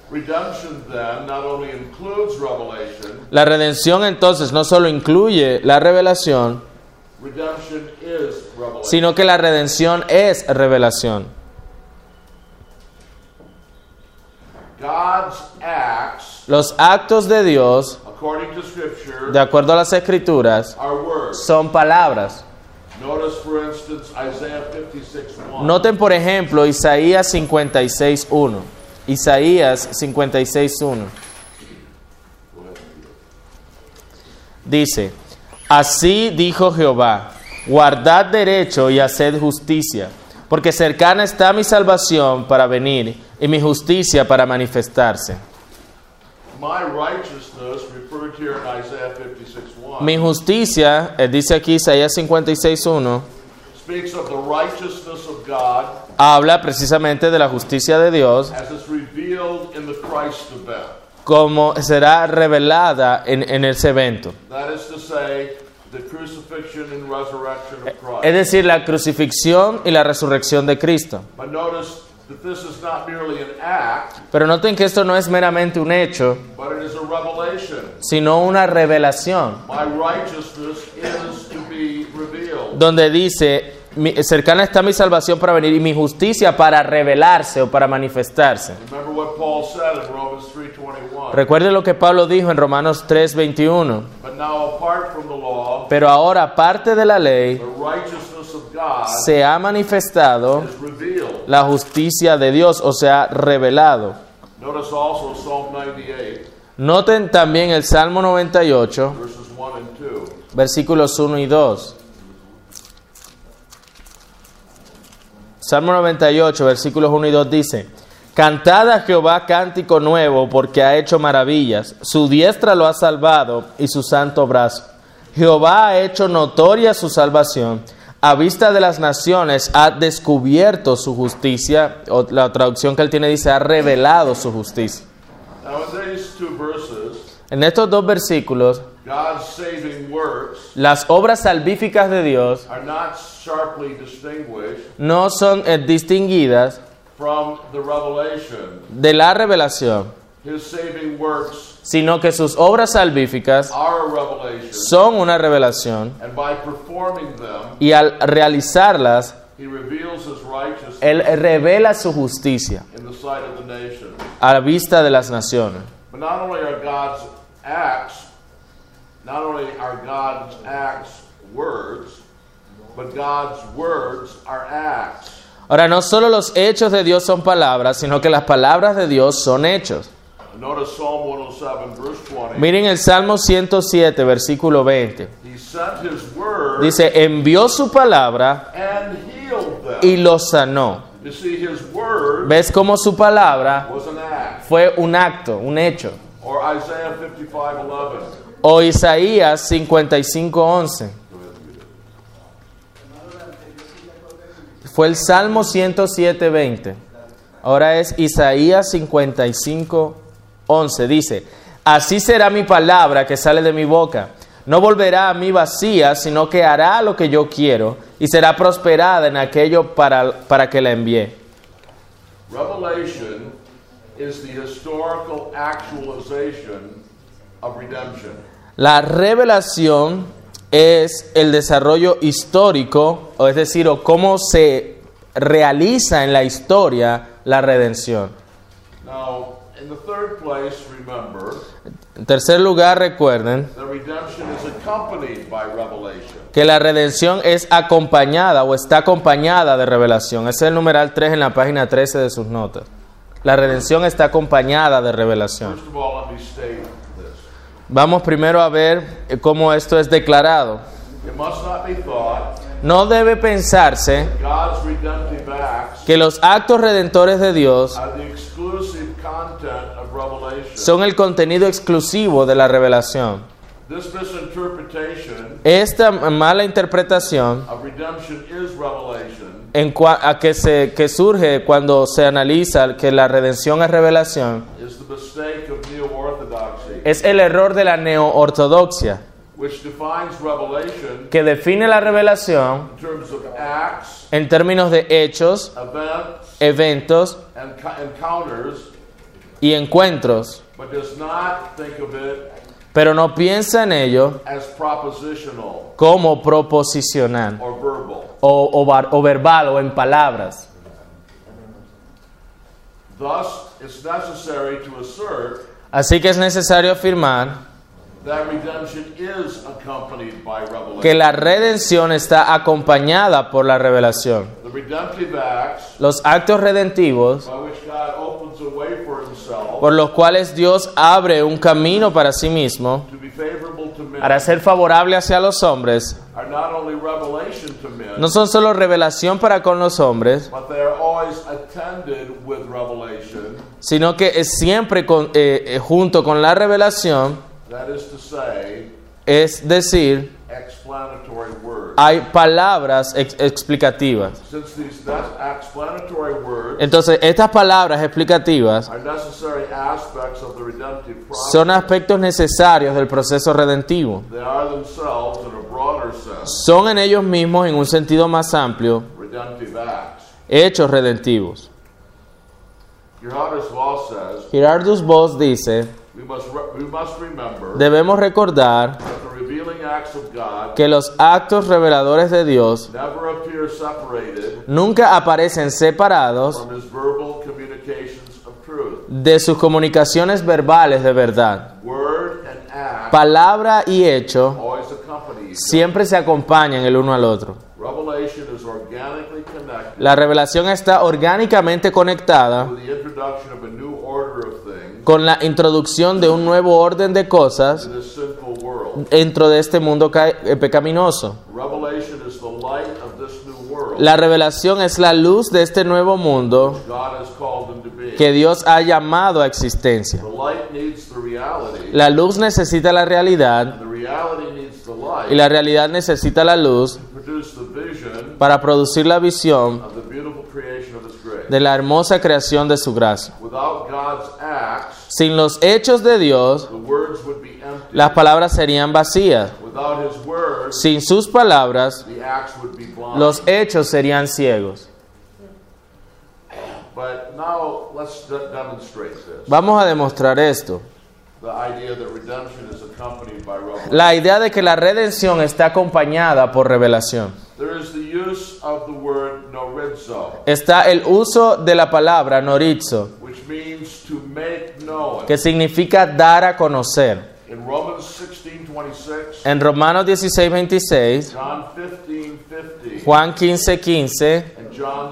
Redemption then not only includes revelation, La redención entonces no solo incluye la revelación, redemption is revelation. sino que la redención es revelación. God's acts, Los actos de Dios, according to Scripture, de acuerdo a las Escrituras, are words. son palabras. Notice, for instance, Isaiah 56:1. Noten, por ejemplo, Isaías 56:1. Isaías 56:1. Dice: Así dijo Jehová, guardad derecho y haced justicia, porque cercana está mi salvación para venir y mi justicia para manifestarse. My righteousness, referred here in Isaiah 56:1, Mi justicia, dice aquí Isaías 56:1, speaks of the righteousness of God habla precisamente de la justicia de Dios, as it's revealed in the Christ event. como será revelada en ese evento. That is to say, the crucifixion and resurrection of Es Christ. decir, la crucifixión y la resurrección de Cristo. But notice that this is not merely an act, Pero noten que esto no es meramente un hecho, but it is a revelation. sino una revelación, My righteousness is to be revealed. donde dice, cercana está mi salvación para venir y mi justicia para revelarse o para manifestarse. Remember what Paul said in Romans 3:21. Recuerden lo que Pablo dijo en Romanos 3:21. But now apart from the law, Pero ahora, aparte de la ley, the righteousness of God se ha manifestado is revealed. la justicia de Dios, o sea, revelado. Notice also Psalm 98, Noten también el Salmo 98, verses 1 and 2. versículos 1 y 2. Salmo 98, versículos 1 y 2 dice: Cantad a Jehová cántico nuevo, porque ha hecho maravillas. Su diestra lo ha salvado y su santo brazo. Jehová ha hecho notoria su salvación. A vista de las naciones ha descubierto su justicia. O la traducción que él tiene dice: ha revelado su justicia. Now in these two verses, En estos dos versículos, God's saving works las obras salvíficas de Dios are not sharply distinguished no son distinguidas from the revelation. de la revelación, His saving works sino que sus obras salvíficas are a revelation, son una revelación, and by performing them, y al realizarlas, He reveals His righteousness Él revela su justicia in the sight of the nation. a la vista de las naciones. But not only are God's acts words, but God's words are acts. Ahora, no solo los hechos de Dios son palabras, sino que las palabras de Dios son hechos. Notice Psalm 107, verse 20. Miren el Salmo 107, versículo 20. He sent His word Dice: envió su palabra and healed them. y los sanó. You see, His word ¿Ves cómo su palabra was an act. fue un acto, un hecho? Or Isaiah 55:11. O Isaías 55:11. Fue el Salmo 107:20. Ahora es Isaías 55:11. Dice: así será mi palabra que sale de mi boca. No volverá a mí vacía, sino que hará lo que yo quiero y será prosperada en aquello para que la envié. Revelation is the historical actualization of redemption. La revelación es el desarrollo histórico, o es decir, o cómo se realiza en la historia la redención. Now, in the third place, remember, En tercer lugar, recuerden the redemption is accompanied by revelation. que la redención es acompañada o está acompañada de revelación. Ese es el numeral 3 en la página 13 de sus notas. La redención está acompañada de revelación. First of all, let me state this. Vamos primero a ver cómo esto es declarado. It must not be thought No debe pensarse God's redemptive acts que los actos redentores de Dios are the exclusive content of revelation. son el contenido exclusivo de la revelación. This misinterpretation Esta mala interpretación of redemption is revelation que surge cuando se analiza que la redención es revelación is the mistake of neo-orthodoxy, es el error de la neo-ortodoxia, which defines revelation que define la revelación in terms of acts, en términos de hechos, events, eventos and encounters y encuentros, but does not think of it pero no piensa en ello as propositional como proposicional or verbal. o verbal o en palabras. Thus, it's necessary to assert Así que es necesario afirmar that redemption is accompanied by revelation. que la redención está acompañada por la revelación. The redemptive acts Los actos redentivos, by which God opens a way for himself por los cuales Dios abre un camino para sí mismo, to be favorable to men, para ser favorable hacia los hombres, are not only revelation to men, no son solo revelación para con los hombres, but they are always attended with revelation. sino que es siempre junto con la revelación, That is to say, es decir, explanatory words. hay palabras explicativas. Since these explanatory words Entonces, estas palabras explicativas are necessary aspects of the redemptive process, son aspectos necesarios del proceso redentivo. they are themselves, in a broader sense, Son en ellos mismos, en un sentido más amplio, redemptive acts. hechos redentivos. Gerhardus Voss says, Gerardus Voss dice, we must remember debemos recordar that the revealing acts of God que los actos reveladores de Dios never appear separated nunca aparecen separados from his verbal communications of truth. de sus comunicaciones verbales de verdad. Word and act Palabra y hecho always accompany each other. siempre se acompañan el uno al otro. Revelation is organically connected La revelación está orgánicamente conectada with the introduction of a new order of things con la introducción de un nuevo orden de cosas to this sinful world. dentro de este mundo pecaminoso. Revelation is the light of this new world La revelación es la luz de este nuevo mundo God has called them to be. que Dios ha llamado a existencia. The light needs the reality, La luz necesita la realidad the reality needs the light y la realidad necesita la luz to produce the vision para producir la visión of the beautiful creation of His grace. de la hermosa creación de su gracia. Without God's acts, Sin los hechos de Dios, the words would be empty. las palabras serían vacías. Without His words, Sin sus palabras, the acts would be blind. los hechos serían ciegos. But now let's demonstrate this. Vamos a demostrar esto. The idea that redemption is accompanied by revelation. La idea de que la redención está acompañada por revelación. There is the use of the word norizo, Está el uso de la palabra norizo, which means to make known. que significa dar a conocer. In Romans 16:26, En Romanos 16:26, John 15:50, Juan 15:15, and John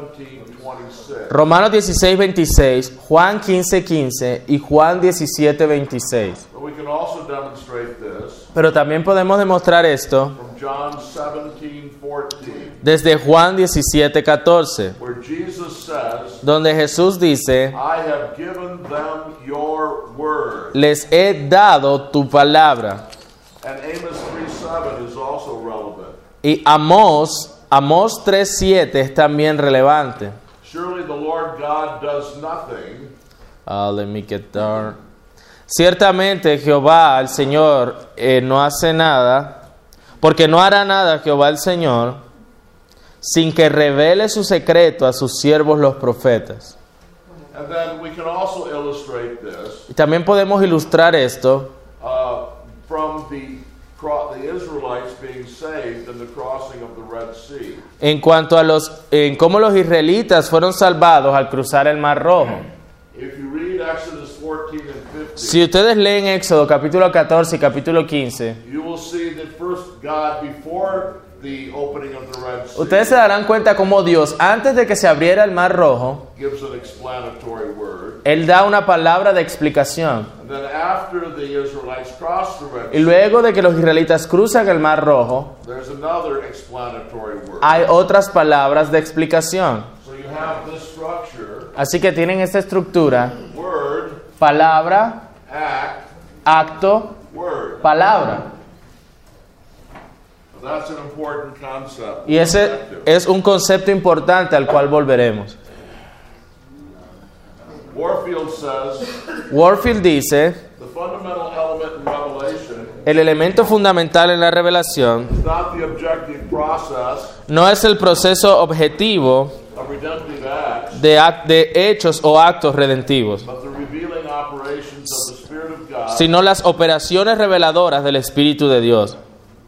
17:26. Romanos 16:26, Juan 15:15 y Juan 17:26. But we can also demonstrate this Pero también podemos demostrar esto from John 17:14, desde Juan 17:14, where Jesus says, donde Jesús dice, I have given them your word. les he dado tu palabra. And Amos 3:7 is also relevant. Y Amós 3:7 es también relevante. Surely the Lord God does nothing Let me get there. Ciertamente Jehová, el Señor, no hace nada, porque no hará nada Jehová el Señor, sin que revele su secreto a sus siervos los profetas. And then we can also illustrate this Y también podemos ilustrar esto from the Israelites being saved in the crossing of the Red Sea. en cuanto a en cómo los israelitas fueron salvados al cruzar el Mar Rojo. If you read Exodus 14 and 15, Si ustedes leen Éxodo capítulo 14 y capítulo 15, you will see that first God, before the opening of the Red Sea, ustedes se darán cuenta cómo Dios, antes de que se abriera el Mar Rojo, gives an explanatory word. Él da una palabra de explicación. And then after the Israelites cross the Red Y Sea, luego de que los israelitas cruzan el Mar Rojo, there's another explanatory word. hay otras palabras de explicación. So you have this structure, Así que tienen esta estructura: word, palabra, act, acto, word. palabra. That's an important concept. Y ese es un concepto importante al cual volveremos. Warfield says Warfield dice, the fundamental element in Revelation el elemento fundamental en la revelación is not the objective process no es el proceso objetivo of redemptive acts, de hechos o actos redentivos, but the revealing revealing operations of the Spirit of God. sino las operaciones reveladoras del Espíritu de Dios.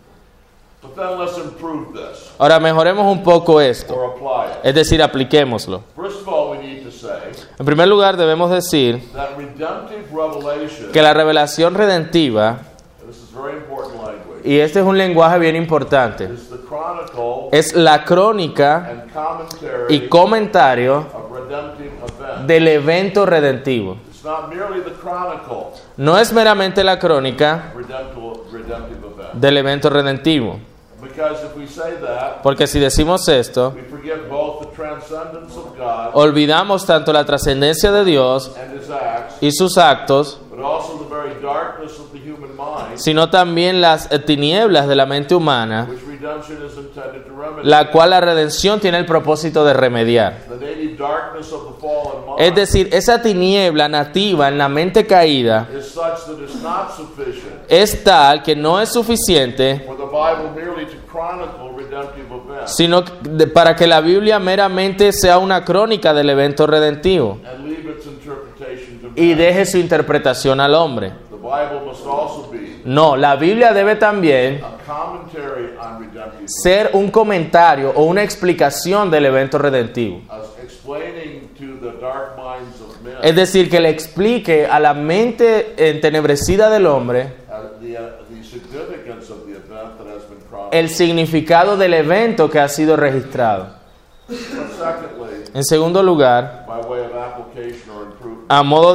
But then let's improve this Ahora mejoremos un poco esto, or apply it. es decir, apliquémoslo. First of all, we need to say En primer lugar, debemos decir that redemptive revelation, que la revelación redentiva, and this is very important language, y este es un lenguaje bien importante, is the chronicle es la crónica and commentary y comentario of redemptive events. del evento redentivo. It's not merely the chronicle No es meramente la crónica of redemptive events. del evento redentivo, Because if we say that, porque si decimos esto, we forget both the transcendence of God olvidamos tanto la trascendencia de Dios and His acts, y sus actos, but also the very darkness of the human mind, sino también las tinieblas de la mente humana, which redemption is intended to remedy. la cual la redención tiene el propósito de remediar. The native darkness of the fallen mind Es decir, esa tiniebla nativa en la mente caída is such that it's not sufficient es tal que no es suficiente, for the Bible merely to chronicle redemptive events sino para que la Biblia meramente sea una crónica del evento redentivo and leave its interpretation to y man. deje su interpretación al hombre. The Bible must also be No, la Biblia debe también a commentary on redemptive events, ser un comentario o una explicación del evento redentivo. as explaining to the dark minds of men Es decir, que le explique a la mente entenebrecida del hombre the significance of the event that has been chronicled. el significado del evento que ha sido registrado. But secondly, En segundo lugar, by way of application or improvement, a modo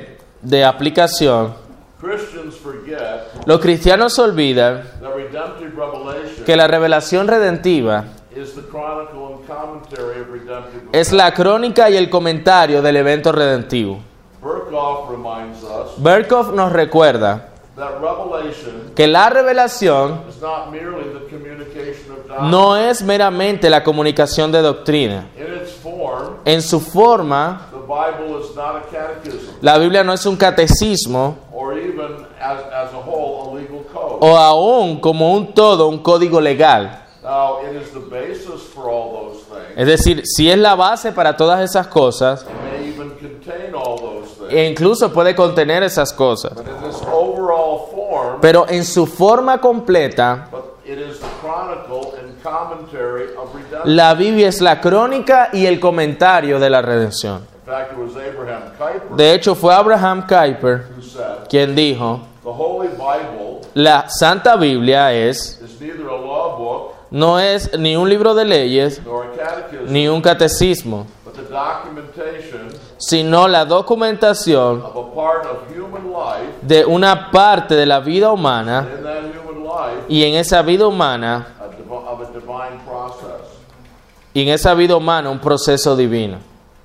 de aplicación, Christians forget los cristianos olvidan that redemptive revelation que la revelación redentiva is the chronicle and commentary of redemptive es events. la crónica y el comentario del evento redentivo. Berkhoff reminds us Berkhoff nos recuerda that revelation que la revelación is not merely the communication of doctrine. no es meramente la comunicación de doctrina. In its form, En su forma, the Bible is not a catechism la Biblia no es un catecismo or even as a whole a legal code. o aún como un todo un código legal. Now, it is the basis for all those things. Es decir, si es la base para todas esas cosas It may even contain all those things. e incluso puede contener esas cosas, But in its overall form, pero en su forma completa, but it is the chronicle and commentary of redemption. la Biblia es la crónica y el comentario de la redención. In fact, it was Abraham Kuyper De hecho, fue Abraham Kuyper who said, quien dijo, the Holy Bible la Santa Biblia es, is neither a law book no es ni un libro de leyes nor a catechism, ni un catecismo, but the documentation sino la documentación of a part of human life, de una parte de la vida humana and in that human life, y en esa vida humana, of a divine process. y en esa vida humana un proceso divino.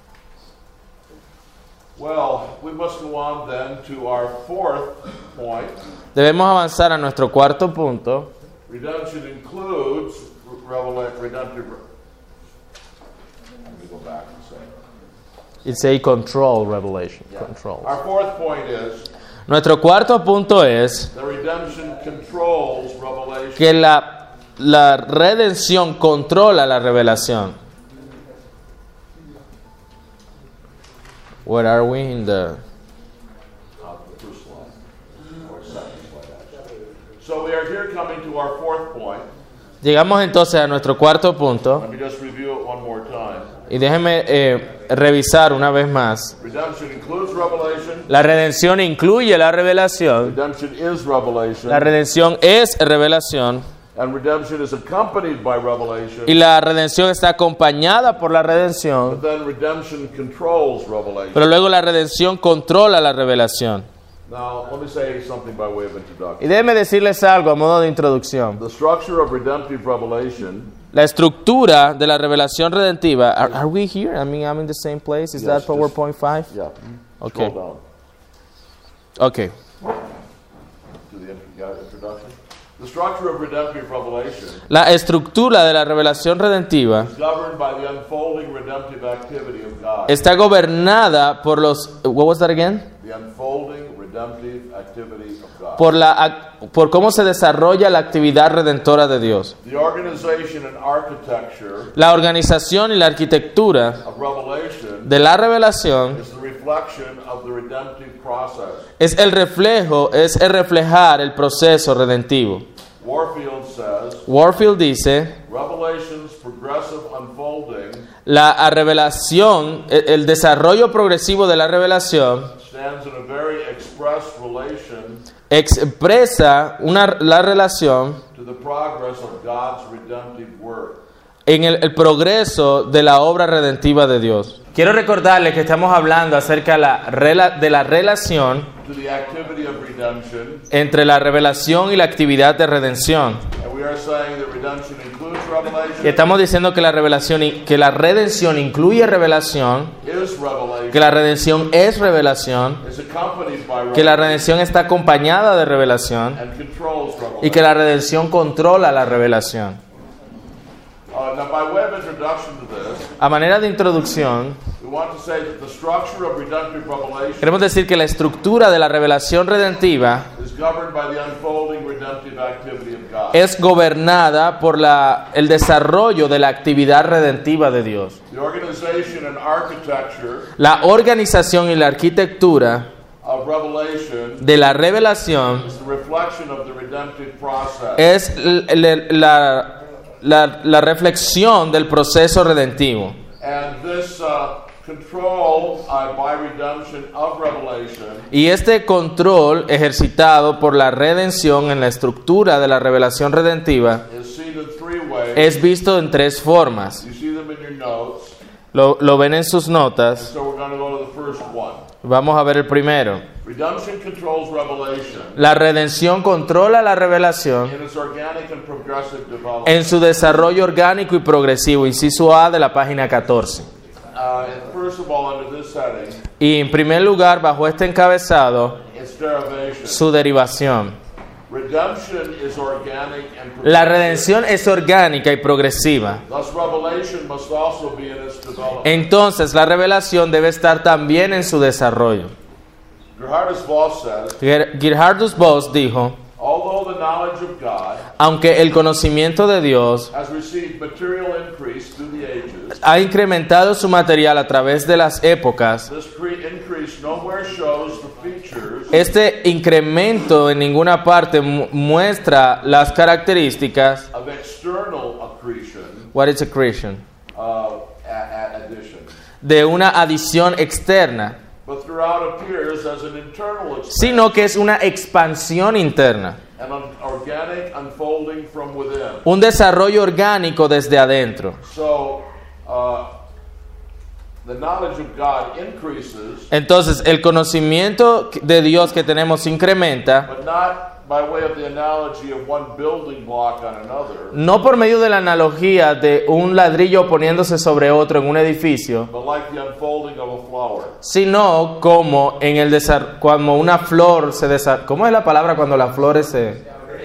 Well, we must go on then to our fourth point. Debemos avanzar a nuestro cuarto punto. Redemption includes redemptive. Let me go back and say. It's a control revelation. Yeah. Control. Our fourth point is Nuestro cuarto punto es that redemption controls revelation. que la redención controla la revelación. Where are we in the... The first slide, or second slide actually. So we are here coming to our fourth point. Llegamos entonces a nuestro cuarto punto. Let me just review it one more time. Y déjeme revisar una vez más. Redemption includes revelation. La redención incluye la revelación. Redemption is revelation. La redención es revelación. And redemption is accompanied by revelation. Y la redención está acompañada por la redención. But then redemption controls revelation. Pero luego la redención controla la revelación. Now, let me say something by way of introduction. Y déjeme decirles algo a modo de introducción. The structure of redemptive revelation. La estructura de la revelación redentiva. Are we here? I mean, I'm in the same place. Is Yes, that PowerPoint 5? Yeah. Okay. Scroll Okay. down to the introduction. The structure of redemptive revelation La estructura de la revelación redentiva is governed by the unfolding redemptive activity of God. está gobernada por los... What was that again? The unfolding redemptive activity of God. Por cómo se desarrolla la actividad redentora de Dios. The organization and architecture La organización y la arquitectura of revelation de la revelación is the reflection of the redemptive process. Es el reflejar el proceso redentivo. Warfield dice, Revelation's progressive unfolding la revelación, el desarrollo progresivo de la revelación stands in a very express relation expresa la relación to the progress of God's redemptive work. en el progreso de la obra redentiva de Dios. Quiero recordarles que estamos hablando acerca de la relación To the activity of redemption, entre la revelación y la actividad de redención. and we are saying that redemption includes revelation, Y estamos diciendo que la redención incluye revelación, is revelation, que la redención es revelación, is accompanied by que la revelation, redención está acompañada de revelación and controls revelation. y que la redención controla la revelación. Now, by way of introduction to this, A manera de introducción, we want to say that the structure of redemptive revelation queremos decir que la estructura de la revelación redentiva is governed by the unfolding redemptive activity of God. es gobernada por el desarrollo de la actividad redentiva de Dios. The organization and architecture La organización y la arquitectura of revelation de la revelación is the reflection of the redemptive process. es la reflexión del proceso redentivo. And this control by redemption of revelation Y este control ejercitado por la redención en la estructura de la revelación redentiva is seen in three ways. es visto en tres formas. You see them in your notes. Lo ven en sus notas. So we're going to go to the first one. Vamos a ver el primero. Redemption controls revelation La redención controla la revelación in its organic and progressive development. en su desarrollo orgánico y progresivo. Inciso A de la página 14. And first of all, under this setting, Y en primer lugar, bajo este encabezado, it's derivation. su derivación. Redemption is organic and La progressive. redención es orgánica y progresiva. Thus, revelation must also be in its development. Entonces, la revelación debe estar también en su desarrollo. Gerhardus Voss says, Gerhardus Voss dijo, although the knowledge of God aunque el conocimiento de Dios has received material increase through the ages, ha incrementado su material a través de las épocas, this increase nowhere shows the features este incremento en ninguna parte muestra las características. of external accretion, What is accretion? addition, De una adición externa, but throughout appears as an internal expansion, sino que es una expansión interna, and an organic unfolding from within. un desarrollo orgánico desde adentro. So, the knowledge of God increases, Entonces, el conocimiento de Dios que tenemos incrementa, but not by way of the analogy of one building block on another, no por medio de la analogía de un ladrillo poniéndose sobre otro en un edificio, but like the unfolding of a flower. sino como en el cuando una flor se desarrolla. ¿Cómo es la palabra cuando las flores se...?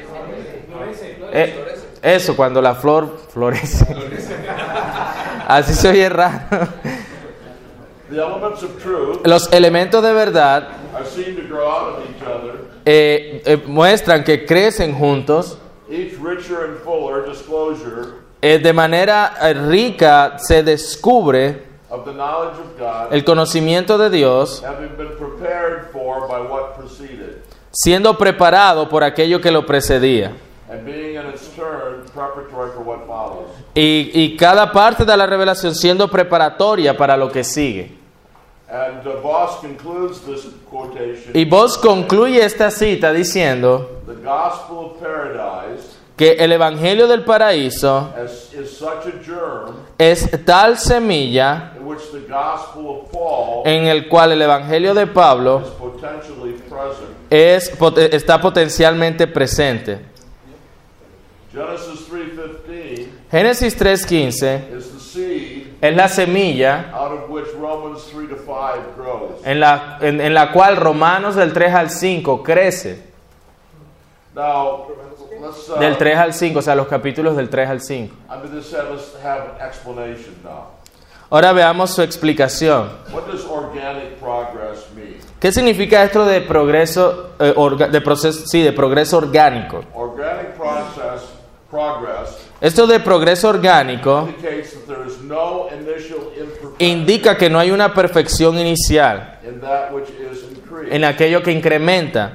Eso, cuando la flor florece. Así se oye raro. The elements of truth Los elementos de verdad are seen to grow out of each other, muestran que crecen juntos. each richer and fuller disclosure De manera rica se descubre of the knowledge of God, el conocimiento de Dios, having been prepared for by what preceded, siendo preparado por aquello que lo precedía. and being in its turn preparatory for what follows. Y cada parte de la revelación siendo preparatoria para lo que sigue. And Voss concludes this quotation, Y Voss concluye esta cita diciendo the gospel of paradise que el Evangelio del Paraíso is such a germ es tal semilla in which the gospel of Paul en el cual el Evangelio de Pablo is potentially present. está potencialmente presente. Genesis 3:15 Génesis 3:15 is the seed es la semilla out of which Romans 3-5 grows. en la cual Romanos del 3 al 5 crece. Now, let's Del 3 al 5, o sea, los capítulos del 3 al 5. under this head, let's have an explanation now. Ahora veamos su explicación. What does organic progress mean? ¿Qué significa esto de progreso, de progreso orgánico? Organic progress Esto de progreso orgánico indicates that there is no initial imperfection indica que no hay una perfección inicial in that which is increased. en aquello que incrementa.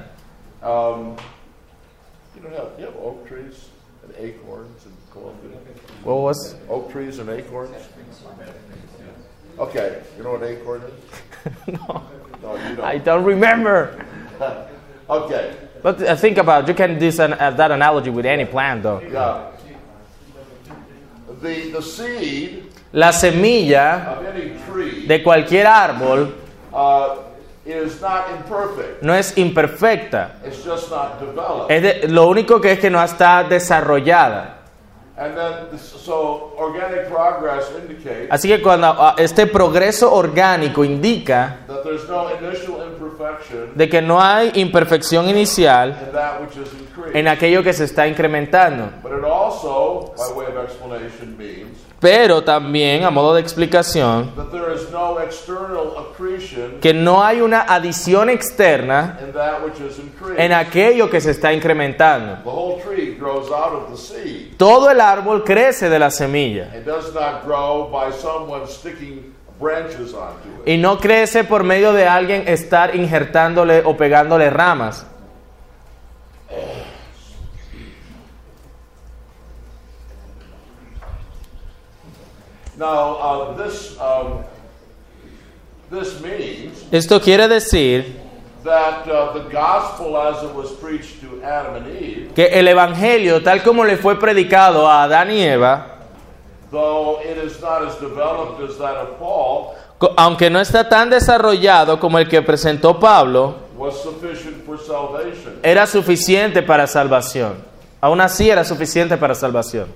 You have oak trees and acorns in Colombia? What was? Oak trees and acorns? Okay, you know what acorn is? No, No, you don't. I don't remember. Okay, But think about it. You can do that analogy with any plant, though. yeah. The seed La semilla of any tree de cualquier árbol is not imperfect. no es imperfecta. It's just not developed. Lo único que es que no está desarrollada. And then, so organic progress indicates Así que cuando este progreso orgánico indica that there's no initial imperfection de que no hay imperfección inicial in that which is increased. en aquello que se está incrementando. But it also, by way of explanation, means Pero también, a modo de explicación, that there is no external accretion que no hay una adición externa in that which is increased. en aquello que se está incrementando. The whole tree grows out of the seed. Todo el árbol crece de la semilla It does not grow by someone sticking branches onto it. y no crece por medio de alguien estar injertándole o pegándole ramas. Now, this means Esto quiere decir that the gospel as it was preached to Adam and Eve, que el evangelio, tal como le fue predicado a Adán y Eva, though it is not as developed as that of Paul, aunque no está tan desarrollado como el que presentó Pablo, was sufficient for salvation. era suficiente para salvación. Aún así era suficiente para salvación.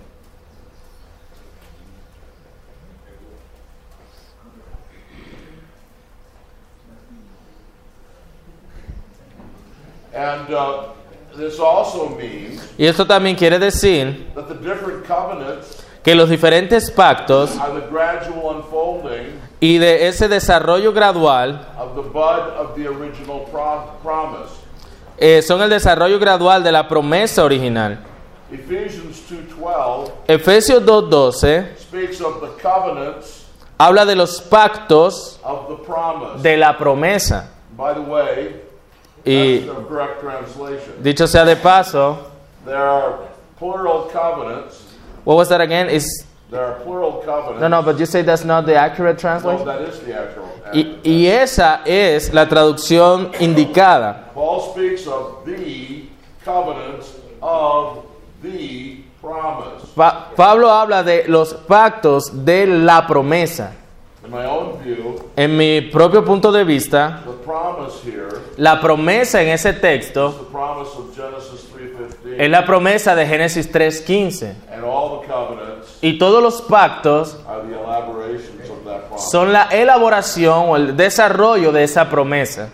And this also means Y esto también quiere decir that the different covenants que los diferentes pactos are the gradual unfolding y de ese desarrollo gradual of the bud of the original promise. Son el desarrollo gradual de la promesa original. Ephesians 2:12 Efesios 2:12 speaks of the covenants habla de los pactos of the promise. de la promesa. By the way, Y that's the correct translation. dicho sea de paso, There are plural covenants. what was that again? There are plural covenants. No, but you say that's not the accurate No, translation. that is the actual. Y esa es la traducción indicada. Paul speaks of the covenants of the promise. Pablo habla de los pactos de la promesa. In my own view, En mi propio punto de vista, the promise here la promesa en ese is texto the promise of Genesis 3:15, es la promesa de Génesis 3:15. and all the covenants Y todos los pactos are the elaborations of that promise. son la elaboración o el desarrollo de esa promesa.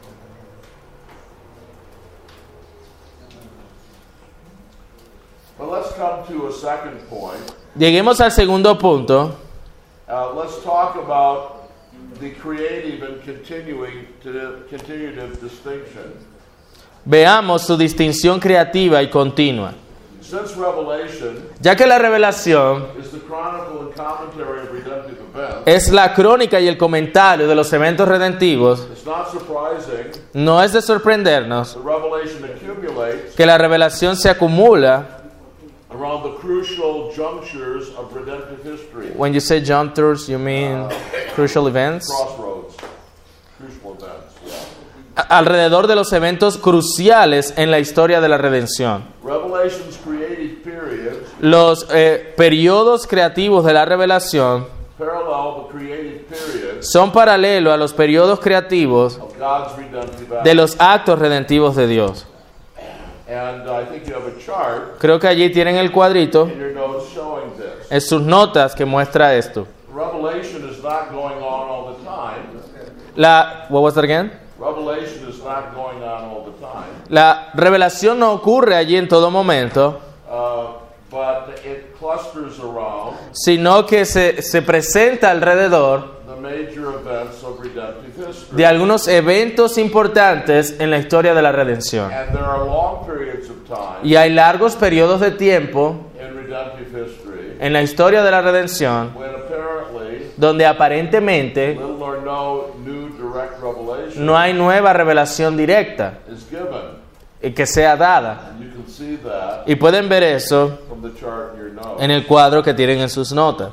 But let's come to a second point. Lleguemos al segundo punto. Let's talk about the creative and continuative distinction. Veamos su distinción creativa y continua. Since Revelation Ya que la revelación is the chronicle and commentary of redemptive events, es la crónica y el comentario de los eventos redentivos, it's not surprising no es de sorprendernos the revelation accumulates que la revelación se acumula. around the crucial junctures of redemptive history. When you say junctures, you mean crucial events? Crossroads. Crucial events, yeah. Alrededor de los eventos cruciales en la historia de la redención. Revelation's creative periods Los periodos creativos de la revelación parallel the creative periods son paralelos a los periodos creativos of God's redemptive acts. de los actos redentivos de Dios. And I think you have a chart Creo que allí tienen el cuadrito in your notes showing this. en sus notas que muestra esto. Revelation is not going on all the time. What was that again? Revelation is not going on all the time. La revelación no ocurre allí en todo momento, But it clusters around sino que se presenta alrededor the major events of redemptive history. de algunos eventos importantes en la historia de la redención. And there are long periods of time Y hay largos periodos de tiempo in redemptive history en la historia de la redención when apparently donde aparentemente little or no new direct revelation no hay nueva revelación directa is given. que sea dada. And you can see that Y pueden ver eso from the chart in your notes. en el cuadro que tienen en sus notas.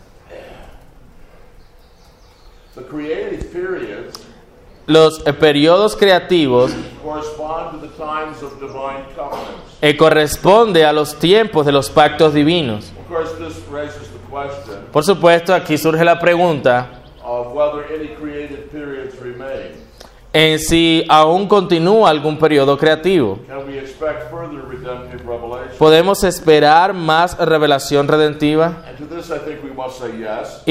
The creative periods Los periodos creativos correspond to the times of divine covenants. corresponde a los tiempos de los pactos divinos. Of course, this raises the question Por supuesto, aquí surge la pregunta of whether any creative periods remain. en si aún continúa algún periodo creativo. Can we expect further redemptive revelation? ¿Podemos esperar más revelación redentiva? And to this, I think we must say yes.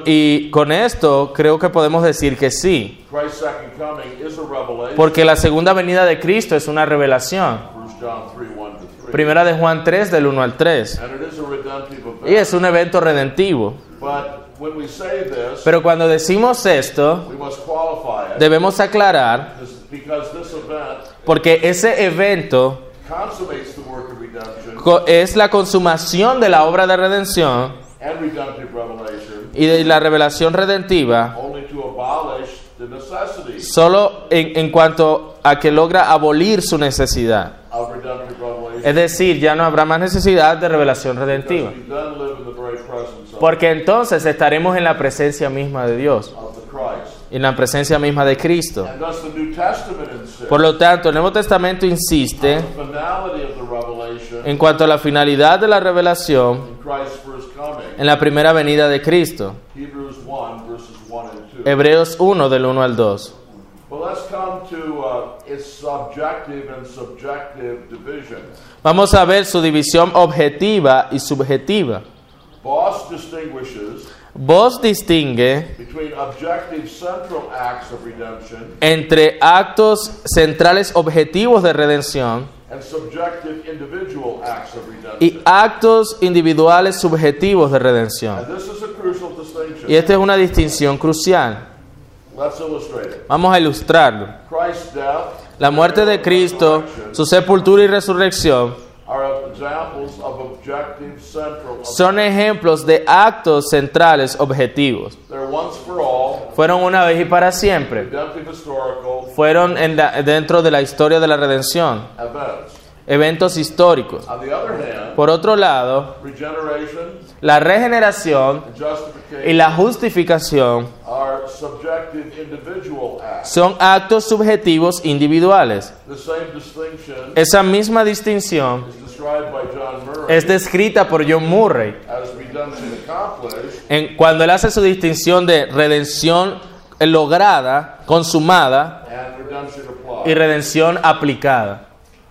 Y con esto creo que podemos decir que sí, Christ's second coming is a revelation. porque la segunda venida de Cristo es una revelación. 1 John 3, 1 to 3. Primera de Juan 3, del 1 al 3. And it is a redemptive Y event. es un evento redentivo. But when we say this, Pero cuando decimos esto, we must qualify it debemos aclarar, because this event porque ese evento consummates the work of redemption es la consumación de la obra de redención and redemptive revelation y de la revelación redentiva, only to abolish the necessity solo en cuanto a que logra abolir su necesidad. of redemptive revelation. Es decir, ya no habrá más necesidad de revelación redentiva. Because we then live in the very presence Porque entonces estaremos en la presencia misma de Dios, of the Christ. en la presencia misma de Cristo. And thus the New Testament insists Por lo tanto, el Nuevo Testamento insiste the finality of the revelation en cuanto a la finalidad de la revelación in Christ's first coming. en la primera venida de Cristo. Hebrews 1, verses 1 and 2. Hebreos 1, del 1 al 2. But let's come to its subjective and subjective division. Vamos a ver su división objetiva y subjetiva. Boss distinguishes Vos distingue between objective central acts of redemption entre actos centrales objetivos de redención and subjective individual acts of y redemption. actos individuales subjetivos de redención. And this is a crucial distinction. Y esta es una distinción crucial. Let's illustrate it. Vamos a ilustrarlo. Christ's death, La muerte de Cristo, su sepultura y resurrección are examples of objective central. son ejemplos de actos centrales objetivos. They're once for all, Fueron una vez y para siempre. redemptive historical Fueron dentro de la historia de la redención. events. Eventos históricos. On the other hand, Por otro lado, regeneration la regeneración and y justification la justificación are subjective individual acts. son actos subjetivos individuales. The same distinction Esa misma distinción is described by John Murray es descrita por John Murray as redemption accomplished cuando él hace su distinción de redención lograda, consumada and redemption y applied. redención aplicada.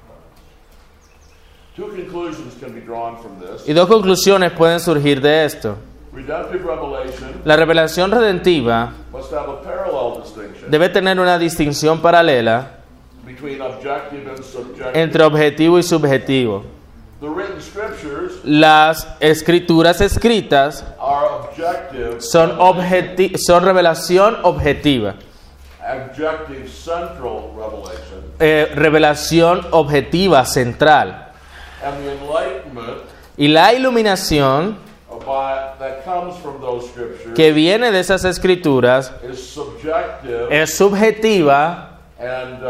Two conclusions can be drawn from this. Y dos conclusiones pueden surgir de esto. Redemptive revelation La revelación redentiva must have a parallel distinction debe tener una distinción paralela between objective and subjective. entre objetivo y subjetivo. The written scriptures Las escrituras escritas are objective, son revelación objetiva, objective central revelation, revelación objetiva central. and the enlightenment Y la iluminación that comes from those scriptures que viene de esas escrituras is subjective es subjetiva and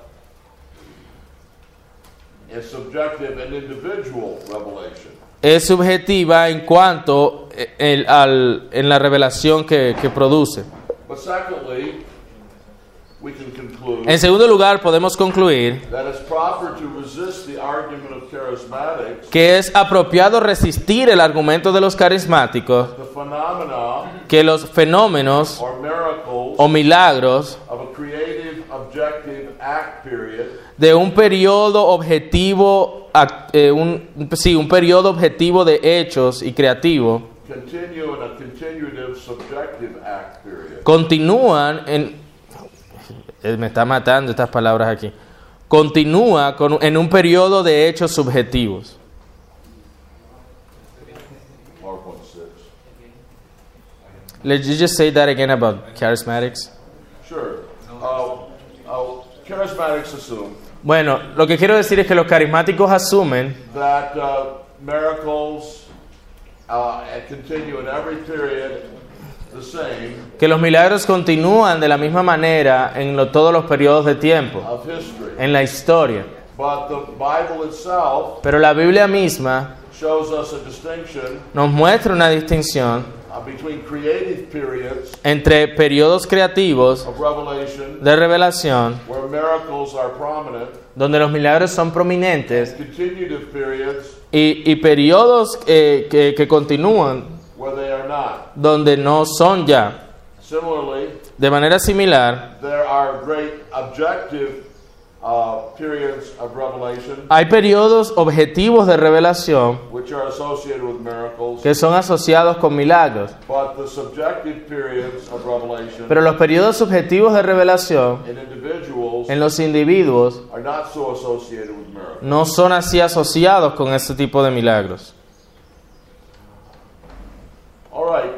individual revelation. es subjetiva en cuanto en la revelación que produce. But secondly, we can conclude En segundo lugar, podemos concluir that it's proper to resist the argument of charismatics, que es apropiado resistir el argumento de los carismáticos, the phenomena que los fenómenos or miracles o milagros of a creative objective act period de un periodo objetivo, un periodo objetivo de hechos y creativo, continue in a continuative subjective act period. continúan me está matando estas palabras aquí. Continúa en un periodo de hechos subjetivos. PowerPoint 6. Let's just say that again about charismatics. Sure. Charismatics assume Bueno, lo que quiero decir es que los carismáticos asumen that miracles continue in every period the same que los milagros continúan de la misma manera en todos los periodos de tiempo, of history. en la historia. But the Bible itself Pero la Biblia misma shows us a distinction nos muestra una distinción between creative periods entre periodos creativos of revelation, de revelación, where miracles are prominent, donde los milagros son prominentes, continuative periods y periodos que continúan, where they are not. donde no son ya. Similarly, De manera similar, there are great objective periods of revelation hay periodos objetivos de revelación which are associated with miracles, que son asociados con milagros, but the subjective periods of revelation pero los periodos subjetivos de revelación in individuals en los individuos are not so associated with miracles. no son así asociados con este tipo de milagros. All right,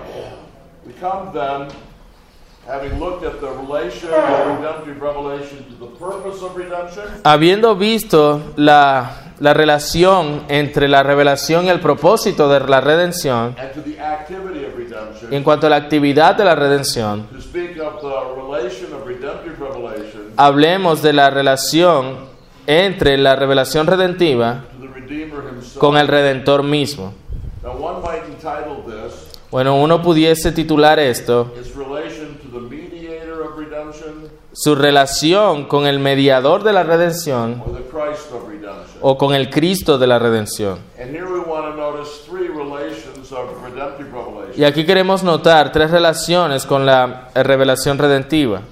we come then, having looked at the relation of redemptive revelation to the purpose of redemption, Habiendo visto la relación entre la revelación y el propósito de la redención, and to the activity of redemption, y en cuanto a la actividad de la redención, to speak of the relation of redemptive revelation hablemos de la relación entre la revelación redentiva to the Redeemer himself. con el Redentor mismo. Now one might entitle this, Bueno, uno pudiese titular esto, its relation to the mediator of redemption su relación con el mediador de la redención or the Christ of redemption. o con el Cristo de la redención. And here we want to notice three relations of redemptive revelation. Y aquí queremos notar tres relaciones con la revelación redentiva,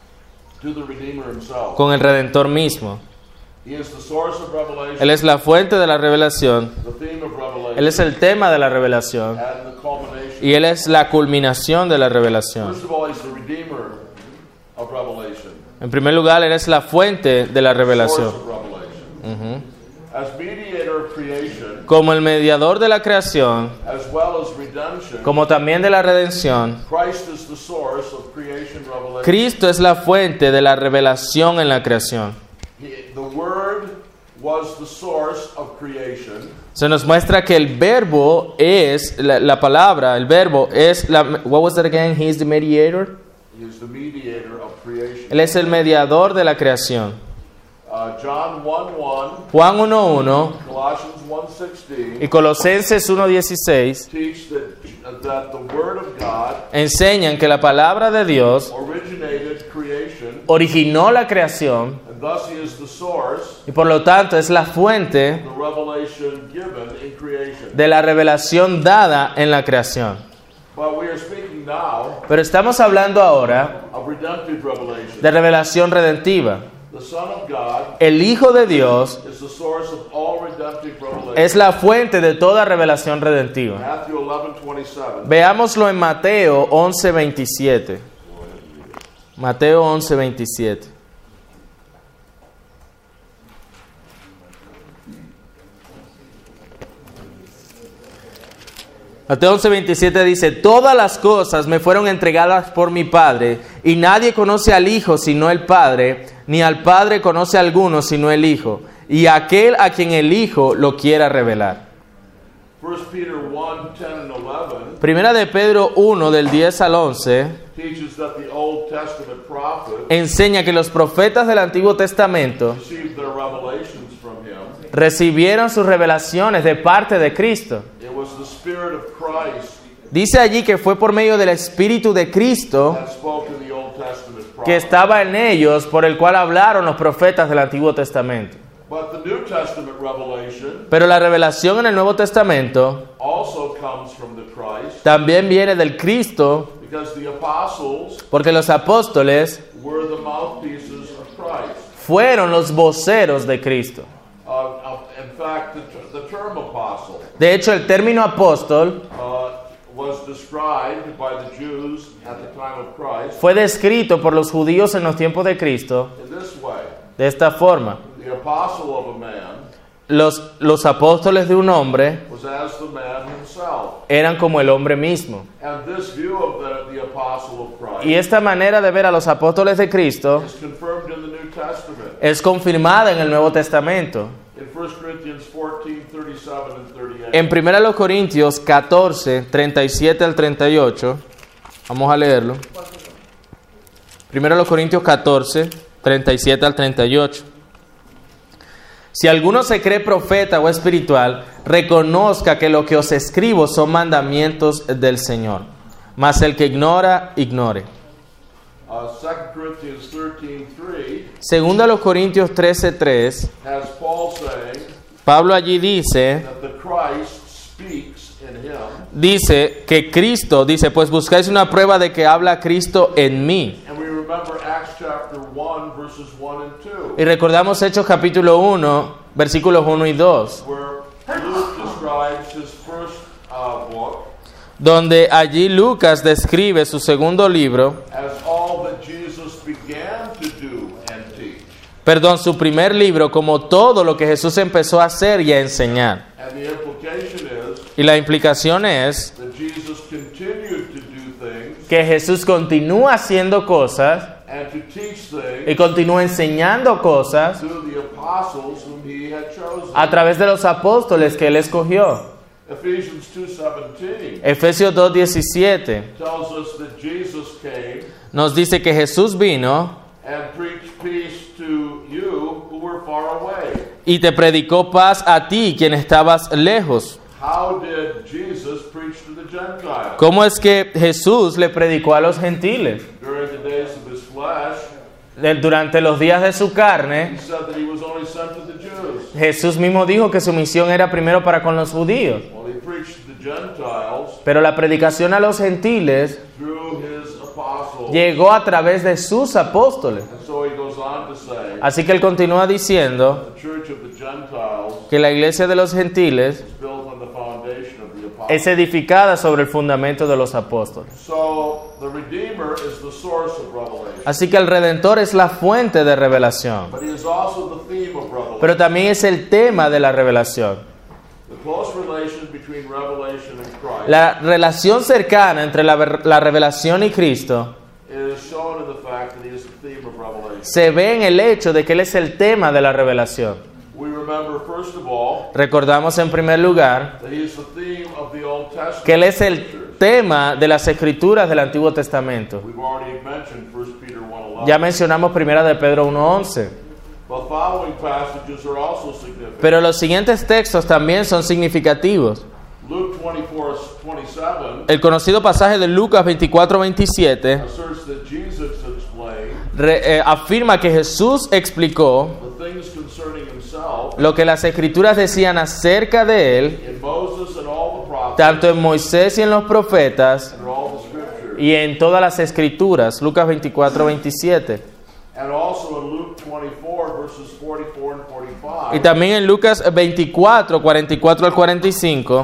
To the Redeemer himself. con el Redentor mismo. He is the source of revelation, Él es la fuente de la revelación, the theme of revelation, Él es el tema de la revelación and the culmination. y Él es la culminación de la revelación. First of all, he's the Redeemer of revelation, En primer lugar, Él es la fuente de la source revelación. of revelation. As mediator of creation, Como el mediador de la creación, as well as redemption, como también de la redención, Christ is the source of creation revelation. Cristo es la fuente de la revelación en la creación. The Word was the source of creation. Se nos muestra que el verbo es, la palabra, el verbo es, what was that again? He is the mediator. He is the mediator of creation. Él es el mediador de la creación. John 1:1, Juan 1.1 Colossians 1:16 y Colosenses 1.16 teach that the Word of God enseñan que la palabra de Dios originated creation, originó la creación and thus He is the source y por lo tanto es la fuente of the revelation given in creation. de la revelación dada en la creación. But we are speaking now Pero estamos hablando ahora of redemptive revelation. de revelación redentiva. The Son of God El Hijo de Dios is the source of all redemptive revelation. es la fuente de toda revelación redentiva. Matthew 11:27. Veámoslo en Mateo 11:27. Mateo 11:27. Mateo 11:27 dice: todas las cosas me fueron entregadas por mi Padre, y nadie conoce al Hijo sino el Padre, ni al Padre conoce a alguno sino el Hijo, y aquel a quien el Hijo lo quiera revelar. 1 Peter 1:10 and 11 Primera de Pedro 1, del 10 al 11, teaches that the Old Testament prophets enseña que los profetas del Antiguo Testamento received their revelations from Him. recibieron sus revelaciones de parte de Cristo. It was the Spirit of Christ Dice allí que fue por medio del Espíritu de Cristo that spoke in the Old Testament que prophets. estaba en ellos, por el cual hablaron los profetas del Antiguo Testamento. But the New Testament revelation Pero la revelación en el Nuevo Testamento also comes from the Christ, también viene del Cristo, because the apostles porque los apóstoles were the mouthpieces of Christ. fueron los voceros de Cristo. In fact, the term apostle De hecho, el término apóstol was described by the Jews at the time of Christ fue descrito por los judíos en los tiempos de Cristo in this way. de esta forma. The apostle of a man Los apóstoles de un hombre was as the man himself. eran como el hombre mismo. And this view of the apostle of Christ Y esta manera de ver a los apóstoles de Cristo is confirmed in the New Testament. es confirmada en el Nuevo Testamento. In 1 Corinthians 14:37 and 38. En 1 Corintios 14, 37 al 38, Vamos a leerlo. Primero los Corintios 14, 37 al 38. Si alguno se cree profeta o espiritual, reconozca que lo que os escribo son mandamientos del Señor. Mas el que ignora, ignore. 2 Corinthians 13:3 Segundo a los Corintios 13:3, has Paul saying Pablo allí dice that the Christ speaks in him, Dice que Cristo, dice, pues buscáis una prueba de que habla Cristo en mí. and we remember Acts chapter 1 verses 1 and 2, Y recordamos Hechos capítulo 1, versículos 1 y 2, where Luke describes his first book donde allí Lucas describe su segundo libro, as all that Jesus began to do and teach. su primer libro, como todo lo que Jesús empezó a hacer y a enseñar. And the implication is Y la implicación es that Jesus continued to do things que Jesús continúa haciendo cosas and to teach y things continúa enseñando cosas through the apostles whom he had chosen. a través de los apóstoles que él escogió. Ephesians 2:17 Efesios 2:17 tells us that Jesus came nos dice que Jesús vino and preached peace to you who were far away. y te predicó paz a ti, quien estabas lejos. How did Jesus preach to the Gentiles? ¿Cómo es que Jesús le predicó a los gentiles? During the days of his flesh, Durante los días de su he carne, said that he was only sent to the Jews. Jesús mismo dijo que su misión era primero para con los judíos. Well, he preached to the Gentiles Pero la predicación a los gentiles through his apostles. llegó a través de sus apóstoles. And so he goes on to say, Así que él continúa diciendo the church of the Gentiles que la iglesia de los gentiles is built on the foundation of the apostles. es edificada sobre el fundamento de los apóstoles. So the Redeemer is the source of revelation. Así que el Redentor es la fuente de revelación, But he is also the theme of revelation. pero también es el tema de la revelación. The close relation between revelation and Christ La relación cercana entre la revelación y Cristo is shown in the fact that he is the theme of revelation. se ve en el hecho de que Él es el tema de la revelación. We remember, first of all, Recordamos en primer lugar that he is the theme of the Old Testament. que Él es el tema de las Escrituras del Antiguo Testamento. We've already mentioned 1 Peter 1:11. Ya mencionamos primera de Pedro 1:11. But following passages are also significant. Pero los siguientes textos también son significativos. Luke 24:27 El conocido pasaje de Lucas 24:27 asserts that Jesus explained afirma que Jesús explicó the things concerning himself lo que las Escrituras decían acerca de Él, in Moses and all the prophets tanto en Moisés y en los profetas and all the scriptures, y en todas las Escrituras. Lucas 24:27. and also in Luke 24 verses 44 and 45. Y también en Lucas 24, 44 al 45,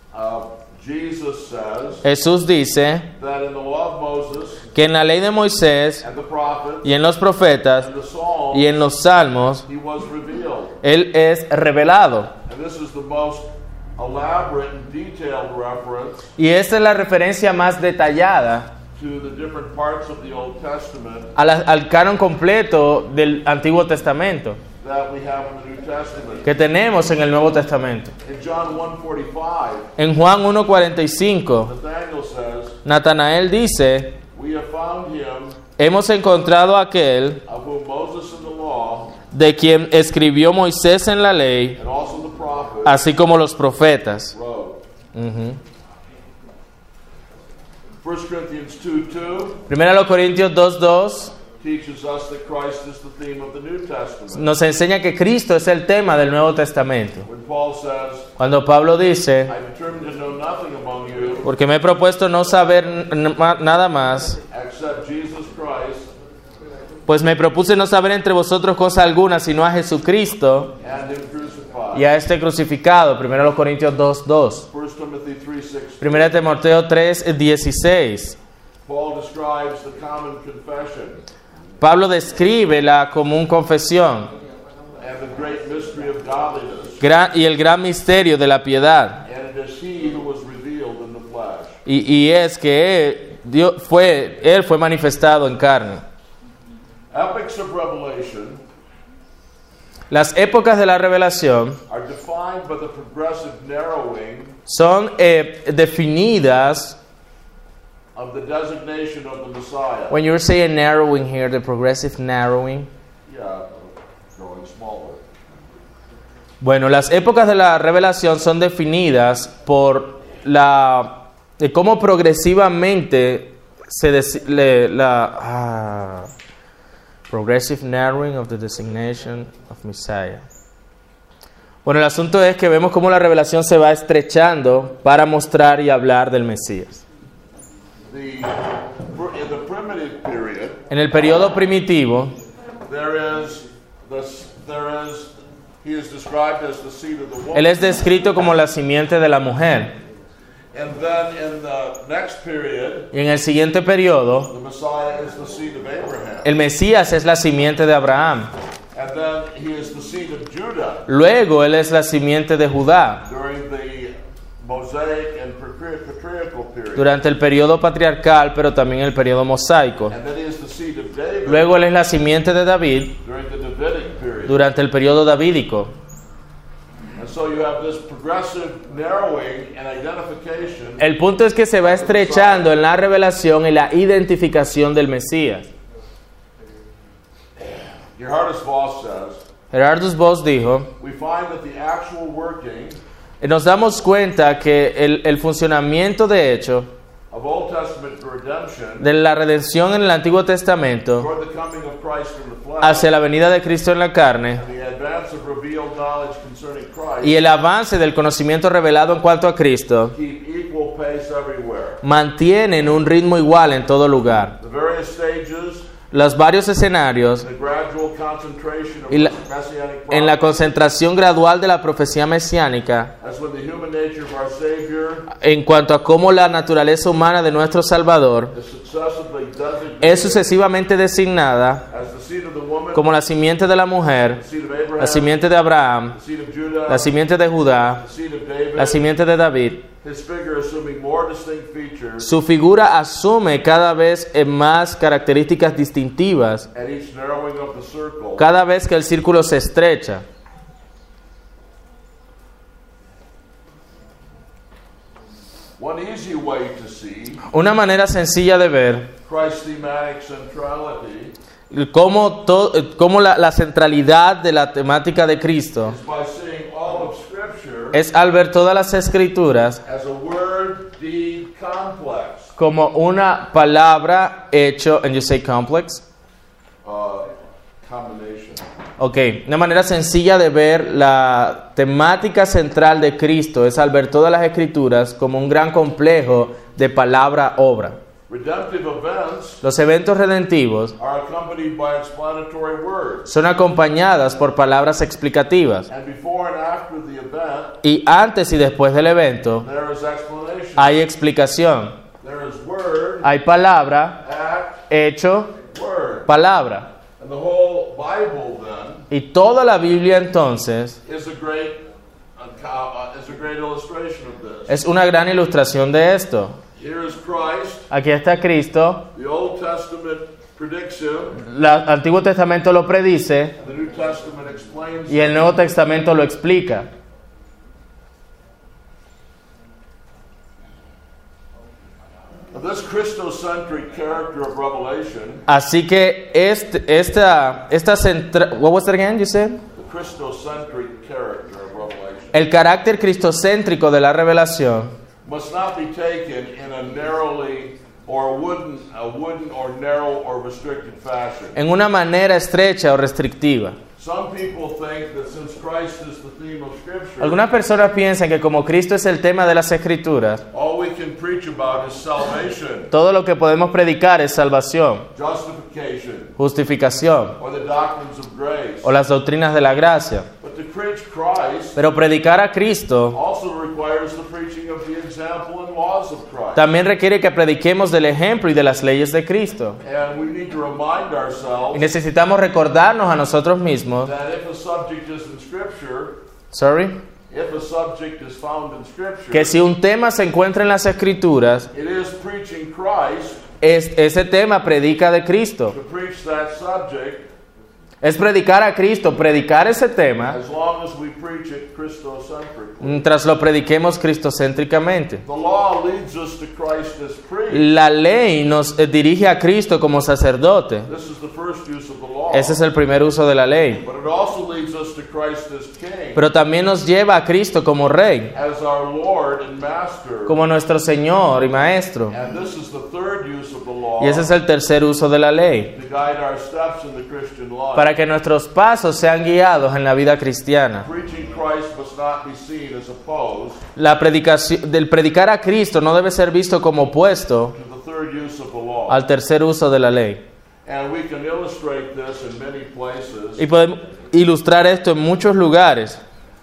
Jesus says Jesús dice that in the law of Moses que en la ley de Moisés and the prophets y en los profetas and the Psalms y en los salmos, he was revealed. Él es revelado. And this is the most elaborate and detailed reference Y esta es la referencia más detallada to the different parts of the Old Testament al canon completo del Antiguo Testamento that we have in the New Testament. que tenemos en el Nuevo Testamento. In John 1:45, En Juan 1:45, Nathanael says, Natanael dice, "We have found him hemos encontrado a aquel of whom Moses in the law de quien escribió Moisés en la ley, and also the prophets así como los profetas." wrote." Ujú. 1 Corinthians 2:2 Primera los Corintios 2:2 teaches us that Christ is the theme of the New Testament. nos enseña que Cristo es el tema del Nuevo Testamento. When Paul says, Cuando Pablo dice, "I determined to know nothing among you porque me he propuesto no saber nada más, except Jesus Christ pues me propuse no saber entre vosotros cosa alguna, sino a Jesucristo and him crucified." y a este crucificado. Primera los Corintios 2:2. 1 Timothy 3:16. Primera Timoteo 3:16. Paul describes the common confession Pablo describe la común confesión and the great mystery of godliness. y el gran misterio de la piedad. And it is he who was revealed in the flesh. Y es que Él fue manifestado en carne. Epochs of revelation Las épocas de la revelación are defined by the progressive narrowing son definidas of the designation of the Messiah. When you're saying narrowing here, the progressive narrowing. Yeah, growing smaller. Bueno, las épocas de la revelación son definidas por de cómo progresivamente progressive narrowing of the designation of Messiah. Bueno, el asunto es que vemos cómo la revelación se va estrechando para mostrar y hablar del Mesías. In the primitive period, En el periodo primitivo, he is described as the seed of the woman. él es descrito como la simiente de la mujer. And then in the next period, Y en el siguiente periodo, the Messiah is the seed of Abraham. el Mesías es la simiente de Abraham. And then he is the seed of Judah Luego él es la simiente de Judá during the Mosaic and patriarchal period. durante el periodo patriarcal, pero también el periodo mosaico. And then he is the seed of David Luego él es la simiente de David during the Davidic period. durante el periodo davídico. And so you have this progressive narrowing and identification. El punto es que se va estrechando en la revelación y la identificación del Mesías. Gerhardus Voss says, Gerhardus Voss dijo, we find that the actual working nos damos cuenta que el funcionamiento de hecho of Old Testament redemption de la redención en el Antiguo Testamento toward the coming of Christ in the flesh hacia la venida de Cristo en la carne and the advance of revealed knowledge concerning Christ y el avance del conocimiento revelado en cuanto a Cristo keep equal pace everywhere. mantienen un ritmo igual en todo lugar. The various stages, Los varios escenarios the gradual concentration of y messianic en la promise, concentración gradual de la profecía mesiánica as when the human nature of our Savior en cuanto a cómo la naturaleza humana de nuestro Salvador is successively designated es sucesivamente designada as the seed of the woman, como la simiente de la mujer, the seed of Abraham, la simiente de Abraham, the seed of Judah, la simiente de Judá, the seed of David, la simiente de David. his figure assuming more distinct features Su figura asume cada vez más características distintivas at each narrowing of the circle. cada vez que el círculo se estrecha. One easy way to see Una manera sencilla de ver Christ's thematic centrality cómo la centralidad de la temática de Cristo is by seeing all of Scripture es al ver todas las escrituras as a word-deed complex. como una palabra hecho, and you say complex? Combination. Ok, una manera sencilla de ver la temática central de Cristo es al ver todas las escrituras como un gran complejo de palabra-obra. Redemptive events Los eventos redentivos are accompanied by explanatory words. son acompañadas por palabras explicativas. And before and after the event, Y antes y después del evento there is explanation. hay explicación. There is word, Hay palabra, act, hecho, word. palabra. And the whole Bible then Y toda la Biblia entonces is a great illustration of this. es una gran ilustración de esto. Here is Christ. Aquí está Cristo, The Old Testament predicts him. el Antiguo Testamento lo predice The New Testament explains y el Nuevo Testamento lo explica. This Christocentric character of Revelation, Así que what was that again, you said? the Christocentric character of Revelation, El carácter cristocéntrico de la revelación must not be taken in a narrowly or a wooden or narrow or restricted fashion. en una manera estrecha o restrictiva. Some people think that since Christ is the theme of Scripture, Algunas personas piensan que como Cristo es el tema de las Escrituras, all we can preach about is salvation, todo lo que podemos predicar es salvación, justification, justificación or the doctrines of grace. o las doctrinas de la gracia. But to preach Christ Pero predicar a Cristo also requires the preaching of the example and laws of Christ. también requiere que prediquemos del ejemplo y de las leyes de Cristo. And we need to remind Y ourselves necesitamos recordarnos a nosotros mismos, that if a subject is in Scripture, if a subject is found in Scripture, que si un tema se encuentra en las Escrituras, it is preaching Christ. ese tema predica de Cristo. To preach that subject es predicar a Cristo, predicar ese tema, as long as we preach it Christocentrically. mientras lo prediquemos cristocéntricamente. The law leads us to Christ as priest. La ley nos dirige a Cristo como sacerdote. This is the first use of the law. Ese es el primer uso de la ley. But it also leads us to Christ as king, Pero también nos lleva a Cristo como Rey, as our Lord and Master. como nuestro Señor y Maestro. And this is the third use of the law, Y ese es el tercer uso de la ley, to guide our steps in the Christian life. para que nuestros pasos sean guiados en la vida cristiana. Preaching Christ must not be seen as opposed La predicación, del predicar a Cristo no debe ser visto como opuesto to the third use of the law. al tercer uso de la ley. And we can illustrate this in many places. Y podemos ilustrar esto en muchos lugares.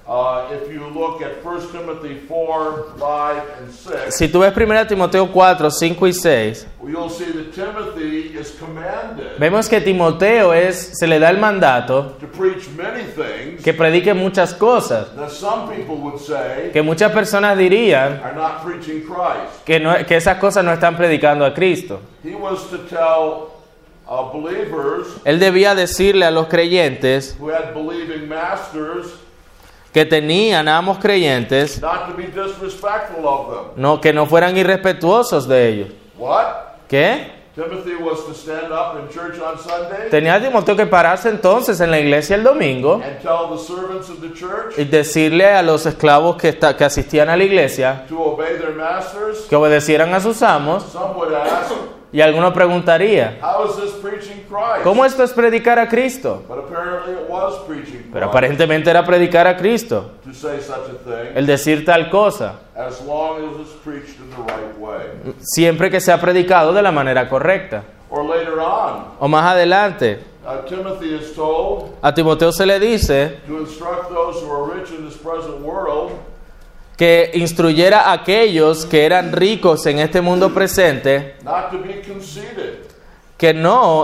If you look at 1 Timothy 4, 5, and 6, Si tú ves 1 Timoteo 4, 5 y 6, you'll see that Timothy is commanded vemos que Timoteo se le da el mandato to preach many things que predique muchas cosas, that some people would say que muchas personas dirían are not preaching Christ. que esas cosas no están predicando a Cristo. He was to tell believers Él debía decirle a los creyentes who had believing masters que tenían amos creyentes not to be disrespectful of them. que no fueran irrespetuosos de ellos. What? ¿Qué? Timothy was to stand up in church on Sunday Tenía Timoteo que pararse entonces en la iglesia el domingo and tell the servants of the church y decirle a los esclavos que asistían a la iglesia to obey their masters. que obedecieran a sus amos. Some would ask, Y alguno preguntaría, how is this preaching Christ? ¿cómo esto es predicar a Cristo? But apparently it was preaching Pero Christ aparentemente era predicar a Cristo, to say such a thing, el decir tal cosa, as long as it's preached in the right way. siempre que sea predicado de la manera correcta. Or later on, O más adelante, Timothy is told a Timoteo se le dice to instruct those who are rich in this present world que instruyera a aquellos que eran ricos en este mundo presente not to be conceited que no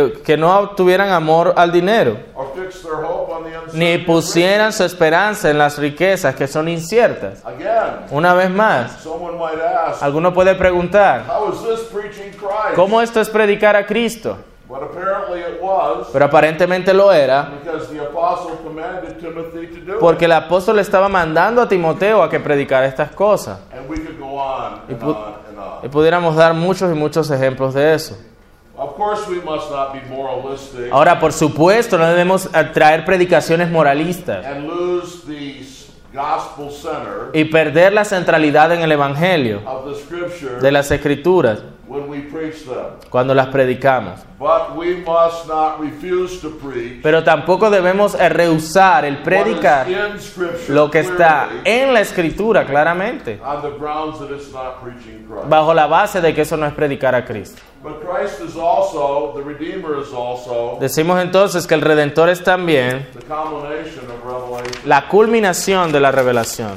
tuvieran amor al dinero, or fix their hope on the ni uncertain. pusieran su esperanza en las riquezas que son inciertas. Again, Una vez más, someone might ask, alguno puede preguntar, how is this preaching Christ? ¿cómo esto es predicar a Cristo? But apparently it was, Pero aparentemente lo era, because the apostle commanded Timothy to do porque it. el apóstol estaba mandando a Timoteo a que predicara estas cosas. And we could go on and pu- on and on. Y pudiéramos dar muchos y muchos ejemplos de eso. Of course, we must not be moralistic Ahora, por supuesto, no debemos traer predicaciones moralistas and lose the gospel center y perder la centralidad en el Evangelio of the scripture de las Escrituras when we preach them. cuando las predicamos. But we must not refuse to preach Pero tampoco debemos rehusar el predicar what is in scripture lo que está clearly en la Escritura claramente, on the grounds that it's not preaching Christ. bajo la base de que eso no es predicar a Cristo. But Christ is also, the Redeemer is also, Decimos entonces que el Redentor es también the culmination of Revelation. la culminación de la revelación.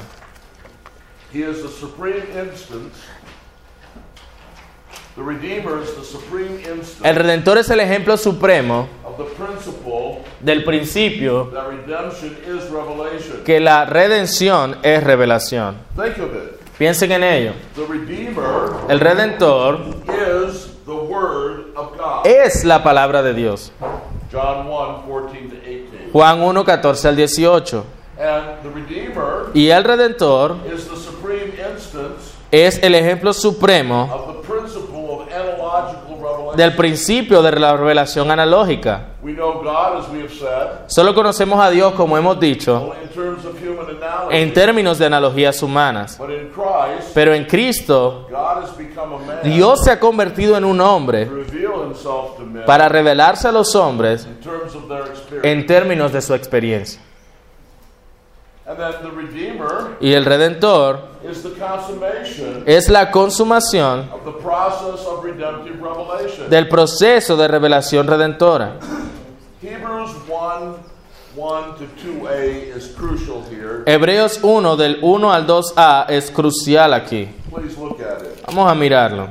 He is the supreme instance. The Redeemer is the supreme El instance Redentor es el ejemplo supremo of the principle del principio that redemption is revelation. que la redención es revelación. Think of it. Piensen en ello. The Redeemer El Redentor is the Word of God. es la palabra de Dios. John 1, 14 to 18. Juan 1, 14 al 18. And the Redeemer Y el Redentor is the supreme instance es el ejemplo supremo of the principle of analogical revelation. del principio de la revelación analógica. We know God, as we have said, Solo conocemos a Dios, como hemos dicho, only in terms of human analogy. en términos de analogías humanas. But in Christ, Pero en Cristo, God has become a man Dios se ha convertido en un hombre to reveal himself to men para revelarse a los hombres in terms of their experience. en términos de su experiencia. And then the Redeemer Y el Redentor is the consummation es la consumación of the process of redemptive revelation. del proceso de revelación redentora. Hebrews 1, 1 to 2a is crucial here. Hebreos 1 del 1 al 2a es crucial aquí. Please look at it. Vamos a mirarlo.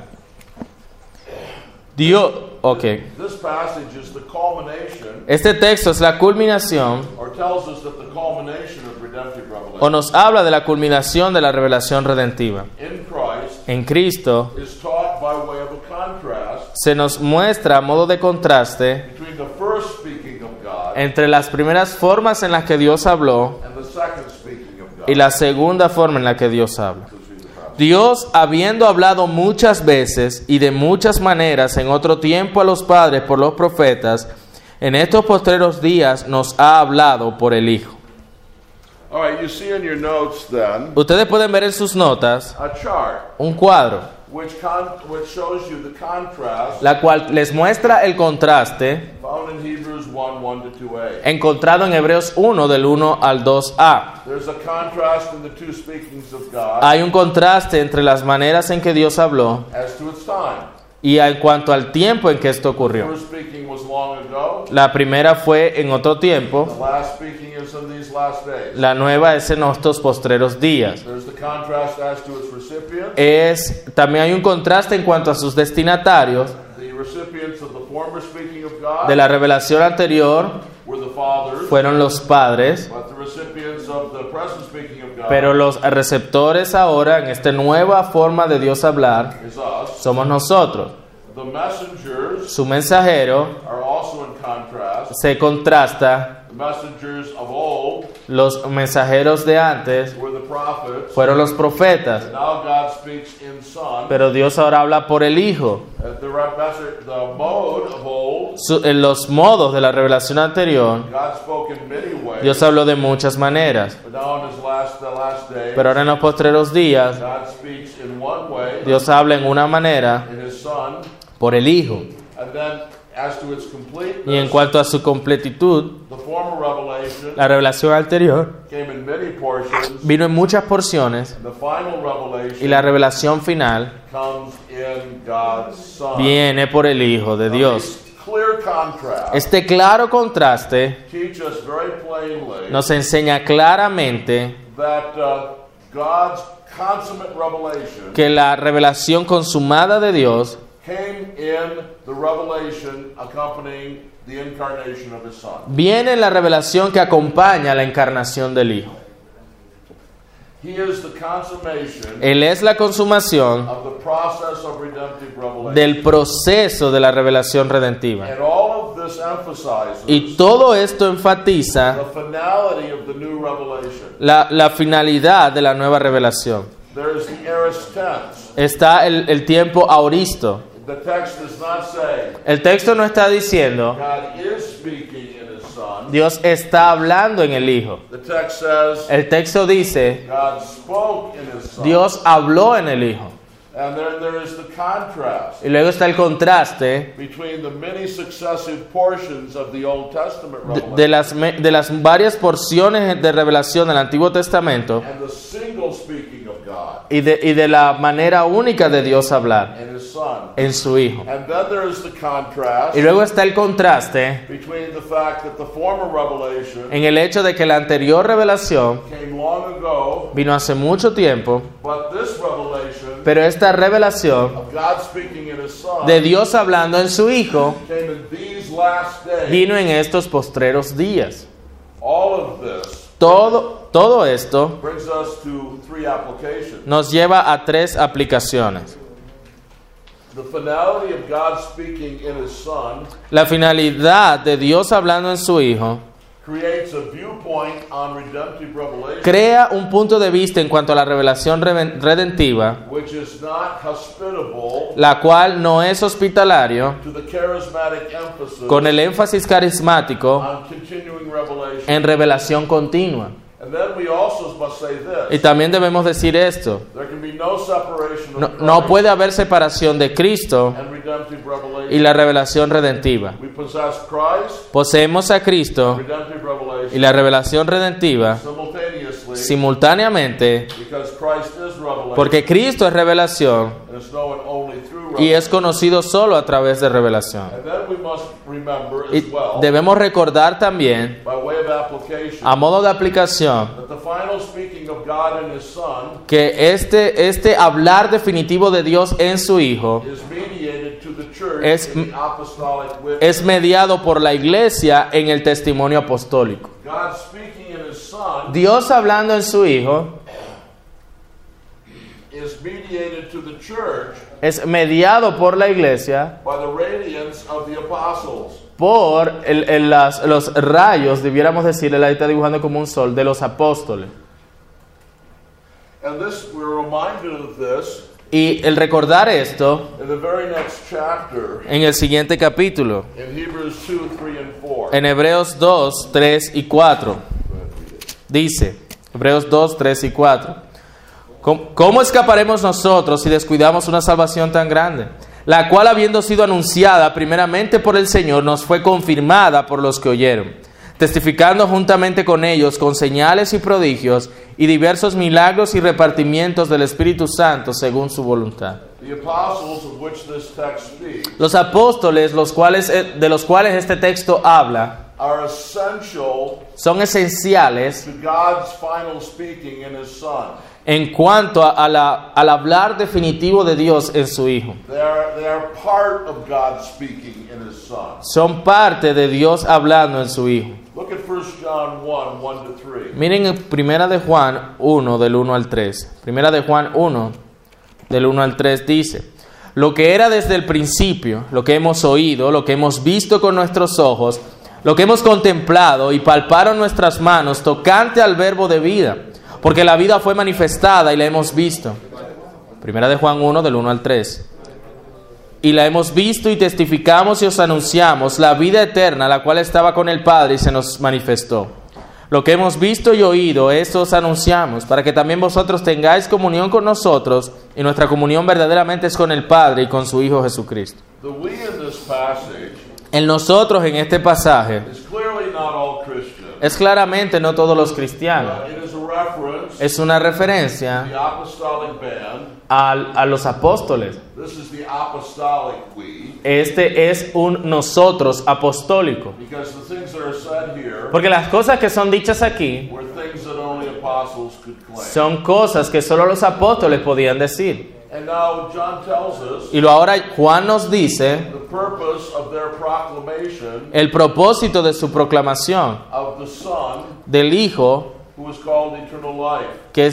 Dios, ok. This passage is the culmination, Este texto es la culminación or tells us that the culmination of redemptive o revelation nos habla de la culminación de la revelación redentiva. in Christ En Cristo is taught by way of a contrast se nos muestra a modo de contraste between the first speaking of God entre las primeras formas en las que Dios habló and the second speaking of God. y la segunda forma en la que Dios habla. Dios, habiendo hablado muchas veces y de muchas maneras en otro tiempo a los padres por los profetas, en estos postreros días nos ha hablado por el Hijo. All right, you see in your notes then Ustedes pueden ver en sus notas a chart un cuadro, which shows you the contrast la cual les muestra el contraste found in Hebrews 1:1 to 2a. encontrado en Hebreos 1 del 1 al 2a. There's a contrast in the two speakings of God Hay un contraste entre las maneras en que Dios habló as to its time. y en cuanto al tiempo en que esto The ocurrió. first speaking was long ago. La primera fue en otro tiempo, The last speaking is in these last days. la nueva es en estos postreros días. There's the contrast as to its recipients. También hay un contraste en cuanto a sus destinatarios. The recipients of the former speaking of God De la revelación anterior were the fathers, fueron los padres, but the recipients of the present speaking of God pero los receptores ahora en esta nueva forma de Dios hablar is us. somos nosotros. The messengers Su mensajero are also in contrast. se contrasta. The messengers of old Los mensajeros de antes were the prophets. fueron los profetas, Now God speaks in Son. pero Dios ahora habla por el Hijo. The mode of old, En los modos de la revelación anterior, God spoke in many ways. Dios habló de muchas maneras, But now in the last days, pero ahora en los postreros días, God speaks in one way Dios habla en una manera in His Son, por el Hijo. and then as to its completeness, Y en cuanto a su completitud, the former revelation la revelación anterior came in many portions, vino en muchas porciones and the final y revelation la revelación final comes in God's Son. viene por el Hijo de Dios. This clear contrast Este claro contraste teach us very plainly nos enseña claramente that God's consummate revelation que la revelación consumada de Dios came in the revelation accompanying the incarnation of His Son. viene en la revelación que acompaña la encarnación del Hijo. He is the consummation Él es la consumación of the process of redemptive revelation. del proceso de la revelación redentiva. And all of this emphasizes Y todo esto enfatiza the finality of the new revelation. la finalidad de la nueva revelación. There is the aorist tense. Está el tiempo aoristo. The text does not say El texto no está diciendo God is speaking in His Son. Dios está hablando en el Hijo. The text says El texto dice God spoke in His Son. Dios habló en el Hijo. And then there is the contrast Y luego está el contraste between the many successive portions of the Old Testament de revelation de las varias porciones de revelación del Antiguo Testamento and the single speaking of God y de la manera única de Dios hablar and His Son. en su Hijo. And then there is the contrast Y luego está el contraste between the fact that the former revelation en el hecho de que la anterior revelación came long ago, vino hace mucho tiempo, but this revelation pero esta revelación of God speaking in His Son de Dios hablando en su Hijo came in these last days. vino en estos postreros días. All of this Todo esto brings us to three applications. nos lleva a tres aplicaciones. The finality of God speaking in His Son La finalidad de Dios hablando en su Hijo creates a viewpoint on redemptive revelation crea un punto de vista en cuanto a la revelación redentiva, which is not hospitable la cual no es hospitalario to the charismatic emphasis con el énfasis carismático on continuing revelation. en revelación continua. And then we also must say Y this: también debemos decir esto: there can be no separation of no Christ puede haber separación de Cristo and redemptive revelation. y la revelación redentiva. We possess Christ, Poseemos a Cristo redemptive y revelation, la revelación redentiva simultaneously, simultáneamente, because Christ is revelation, porque Cristo es revelación and is known only through y revelation. es conocido solo a través de revelación. And then we must remember Y as well, debemos recordar también, by way of application, a modo de aplicación, that the final speaking of God and His Son que este hablar definitivo de Dios en su Hijo is mediated to the church Es- in the apostolic witness. es mediado por la Iglesia en el testimonio apostólico. God speaking in His Son Dios hablando en su Hijo is mediated to the church es mediado por la Iglesia by the radiance of the apostles. por los rayos, debiéramos decir, él ahí está dibujando como un sol, de los apóstoles. And this, we're reminded of this Y el recordar esto in the very next chapter, en el siguiente capítulo, in Hebrews 2, 3, and 4. en Hebreos 2, 3 y 4. Dice, Hebreos 2, 3 y 4. ¿Cómo escaparemos nosotros si descuidamos una salvación tan grande? La cual, habiendo sido anunciada primeramente por el Señor, nos fue confirmada por los que oyeron, testificando juntamente con ellos con señales y prodigios y diversos milagros y repartimientos del Espíritu Santo según su voluntad. The apostles of which this text speaks Los apóstoles, de los cuales este texto habla, are essential son esenciales to God's final speaking in His Son. en cuanto al hablar definitivo de Dios en su Hijo. They are part of God speaking in His Son. Son parte de Dios hablando en su Hijo. Look at 1 John 1, 1 to 3. Miren en Primera de Juan 1, del 1 al 3. Primera de Juan 1, del 1 al 3 dice: lo que era desde el principio, lo que hemos oído, lo que hemos visto con nuestros ojos, lo que hemos contemplado y palparon nuestras manos tocante al verbo de vida, porque la vida fue manifestada y la hemos visto. Primera de Juan 1, del 1 al 3. Y la hemos visto y testificamos y os anunciamos la vida eterna, la cual estaba con el Padre y se nos manifestó. Lo que hemos visto y oído, esto os anunciamos, para que también vosotros tengáis comunión con nosotros, y nuestra comunión verdaderamente es con el Padre y con su Hijo Jesucristo. The we in this passage En nosotros, en este pasaje, is clearly not all Christians. es claramente no todos los cristianos. It is a reference Es una to referencia the apostolic band. a los apóstoles. This is the apostolic we, Este es un nosotros apostólico. because the things that are said here Porque las cosas que son dichas aquí were things that only apostles could claim. son cosas que solo los apóstoles podían decir. And now John tells us Y ahora Juan nos dice the purpose of their proclamation el propósito de su proclamación of the Son, del Hijo, who is called eternal life. que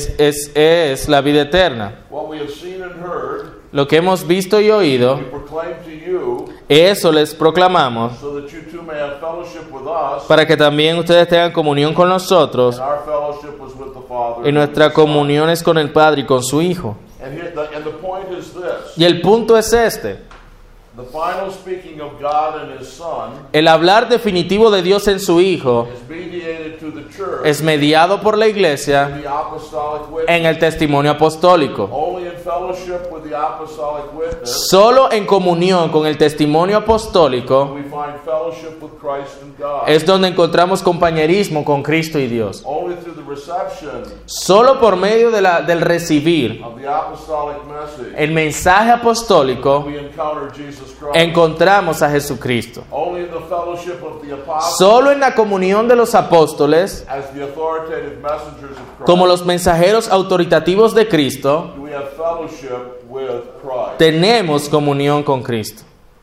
es la vida eterna. What we have seen and heard, Lo que hemos visto y oído, we proclaim to you, eso les proclamamos, so that you too may have fellowship with us, para que también ustedes tengan comunión con nosotros, and our fellowship was with the Father. y nuestra comunión es con el Padre y con su Hijo. And the point is this: Y el punto es este: the final speaking of God and His Son el hablar definitivo de Dios en su Hijo is mediated to the church es mediado por la iglesia in the apostolic witness. en el testimonio apostólico. Only in fellowship with the apostolic witness Solo en comunión con el testimonio apostólico we find fellowship with Christ and God. es donde encontramos compañerismo con Cristo y Dios. Only through the reception Solo por medio del recibir of the apostolic message el mensaje apostólico we encounter Jesus Christ. encontramos a Jesucristo. Only in the fellowship of the apostles Solo en la comunión de los apóstoles, as the authoritative messengers of Christ como los mensajeros autoritativos de Cristo, do we have fellowship with Christ. tenemos comunión con Cristo.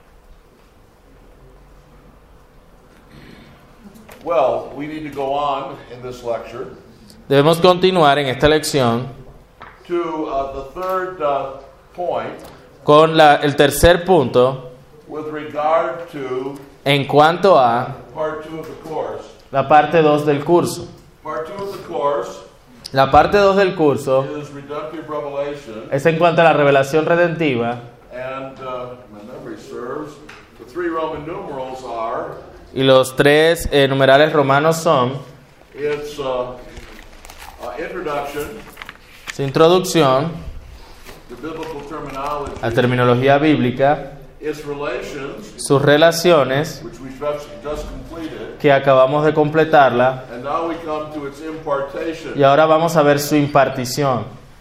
Well, we need to go on in this lecture Debemos continuar en esta lección to the third point con el tercer punto with regard to en cuanto a part 2 of the course. la parte 2 del curso. Part 2 of the course La parte 2 del curso is redemptive revelation, es en cuanto a la revelación redentiva, and my memory serves, the 3 Roman numerals are, y los 3 numerales romanos son it's introduction, su introducción, the biblical terminology, la terminología bíblica, its relations, sus relaciones, which we just completed, que acabamos de completarla, and now we come to its impartation. y ahora vamos a ver su impartición.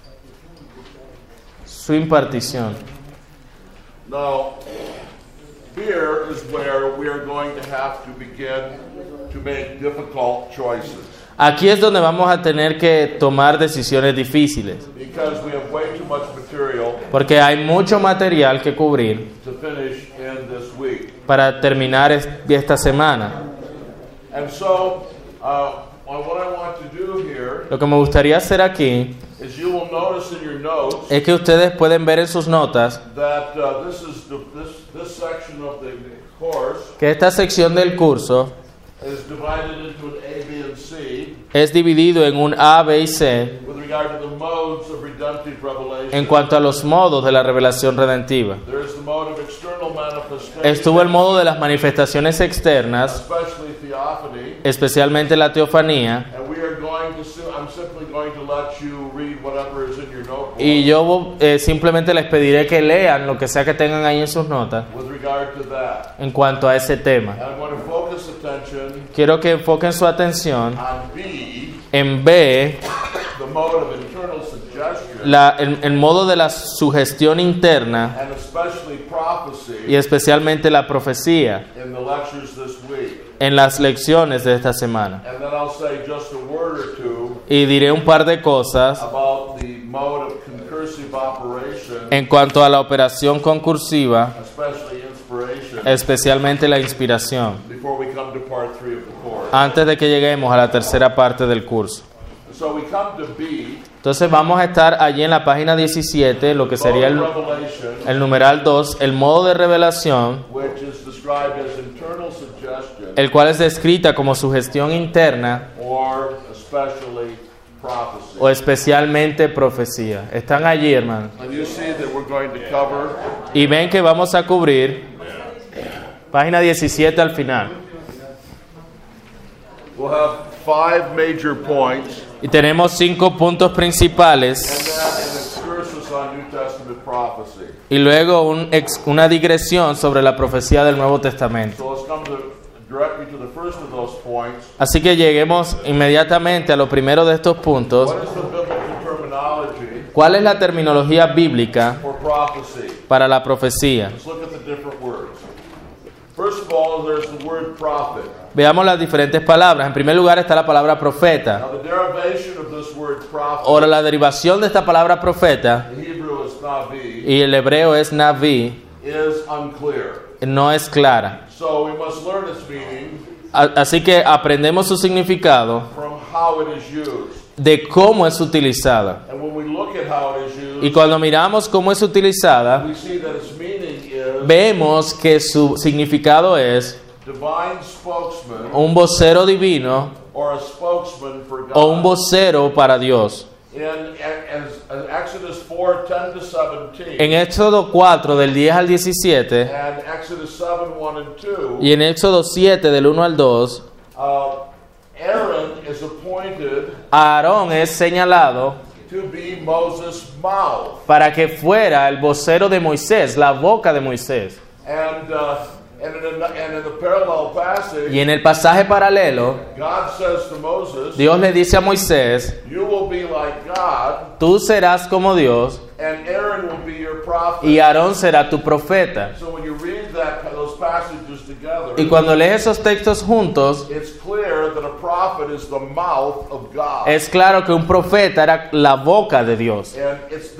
Su impartición. Now, here is where we are going to have to begin to make difficult choices, Aquí es donde vamos a tener que tomar decisiones difíciles, because we have way too much material porque hay mucho material que cubrir to finish in this week. para terminar esta semana. And so, what I want to do here Lo que me gustaría hacer aquí is you will notice in your notes es que ustedes pueden ver en sus notas that this section of the course que esta sección del curso is divided into an A, B, and C es dividido en un A, B y C with regard to the modes of redemptive revelation. en cuanto a los modos de la revelación redentiva. There is the mode of external manifestation, Estuvo el modo de las manifestaciones externas, especially theophany, especialmente la teofanía, and we are going to I'm simply going to let you read whatever is in your notebook y yo simplemente les pediré que lean lo que sea que tengan ahí en sus notas with regard to that. en cuanto a ese tema. And I'm going to focus attention Quiero que enfoquen su atención on B, en B, the mode of internal suggestion, el modo de la sugestión interna and especially prophecy y especialmente la profecía in the lectures this week. en las lecciones de esta semana. And then I'll say just a word or two Y diré un par de cosas about the mode of concursive operation, en cuanto a la operación concursiva, especially inspiration, especialmente la inspiración, before we come to part 3 of the course. antes de que lleguemos a la tercera parte del curso. So we come to B, Entonces vamos a estar allí en la página 17, lo que sería mode of revelation, el numeral 2, el modo de revelación, which is described as internal suggestion el cual es descrita como sugestión interna or especially prophecy. o especialmente profecía. Están allí, hermano. And you see that we're going to cover Y ven que vamos a cubrir página 17 al final. we'll have 5 major points Y tenemos 5 puntos principales and then an excursus on New Testament prophecy. y luego una digresión sobre la profecía del Nuevo Testamento. So let's come directly to the first of those points. Así que lleguemos inmediatamente a lo primero de estos puntos. What is the biblical terminology ¿Cuál es la terminología bíblica for prophecy? para la profecía? Let's look at the different words. First of all, there's the word prophet. Veamos las diferentes palabras. En primer lugar está la palabra profeta. Now, the derivation of this word prophet, Ahora, la derivación de esta palabra profeta, the Hebrew is navi, y el hebreo es naví, is unclear. no es clara. So we must learn its meaning Así que aprendemos su significado from how it is used. de cómo es utilizada. And when we look at how it is used, Y cuando miramos cómo es utilizada, we see that its meaning is vemos que su significado es divine spokesman un vocero divino or a spokesman for God. o un vocero para Dios. In Exodus 4, 10 to 17, En Éxodo 4 del 10 al 17 and Exodus 7, 1 and 2, y en Éxodo 7 del 1 al 2, Aaron is appointed Aarón es señalado to be Moses' mouth. para que fuera el vocero de Moisés, la boca de Moisés. And in the parallel passage, Y en el pasaje paralelo, God says to Moses, Dios le dice a Moisés, you will be like God, tú serás como Dios and Aaron will be your prophet. y Aarón será tu profeta. So when you read those passages together, Y cuando lees esos textos juntos, it's clear that a prophet is the mouth of God. es claro que un profeta era la boca de Dios. And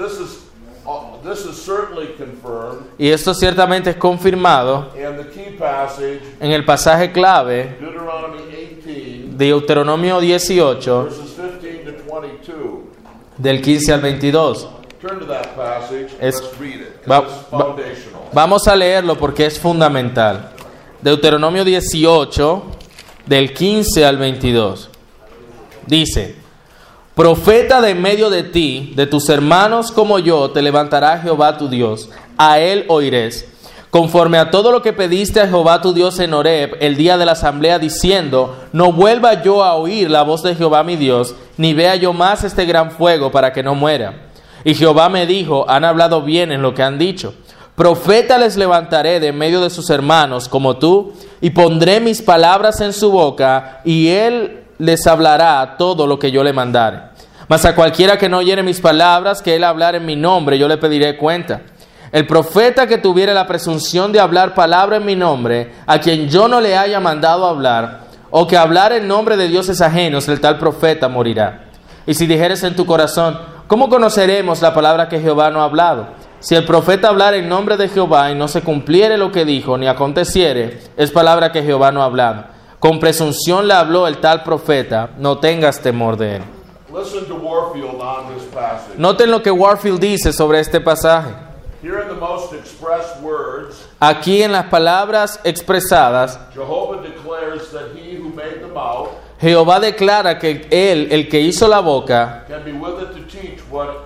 this is certainly confirmed Y esto ciertamente es confirmado in the key passage, en el pasaje clave Deuteronomy 18, de Deuteronomio 18, verses 15 to 22. del 15 al 22. Turn to that passage. Es- Let's read it. va- It's foundational. Vamos a leerlo porque es fundamental. Deuteronomio 18, del 15 al 22. Dice: profeta de en medio de ti, de tus hermanos como yo, te levantará Jehová tu Dios. A él oirés, conforme a todo lo que pediste a Jehová tu Dios en Horeb, el día de la asamblea, diciendo: no vuelva yo a oír la voz de Jehová mi Dios, ni vea yo más este gran fuego, para que no muera. Y Jehová me dijo: han hablado bien en lo que han dicho. Profeta les levantaré de en medio de sus hermanos como tú, y pondré mis palabras en su boca, y él les hablará todo lo que yo le mandare. Mas a cualquiera que no oyere mis palabras, que él hablar en mi nombre, yo le pediré cuenta. El profeta que tuviere la presunción de hablar palabra en mi nombre, a quien yo no le haya mandado hablar, o que hablar en nombre de dioses ajenos, el tal profeta morirá. Y si dijeres en tu corazón: ¿cómo conoceremos la palabra que Jehová no ha hablado? Si el profeta hablara en nombre de Jehová y no se cumpliere lo que dijo, ni aconteciere, es palabra que Jehová no ha hablado. Con presunción le habló el tal profeta, no tengas temor de él. Listen to Warfield on this passage. Noten lo que Warfield dice sobre este pasaje. Here in the most expressed words, Aquí en las palabras expresadas, Jehovah declares that he who made the mouth Jehová declara que Él, el que hizo la boca, can be with it to teach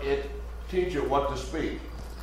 it what to speak.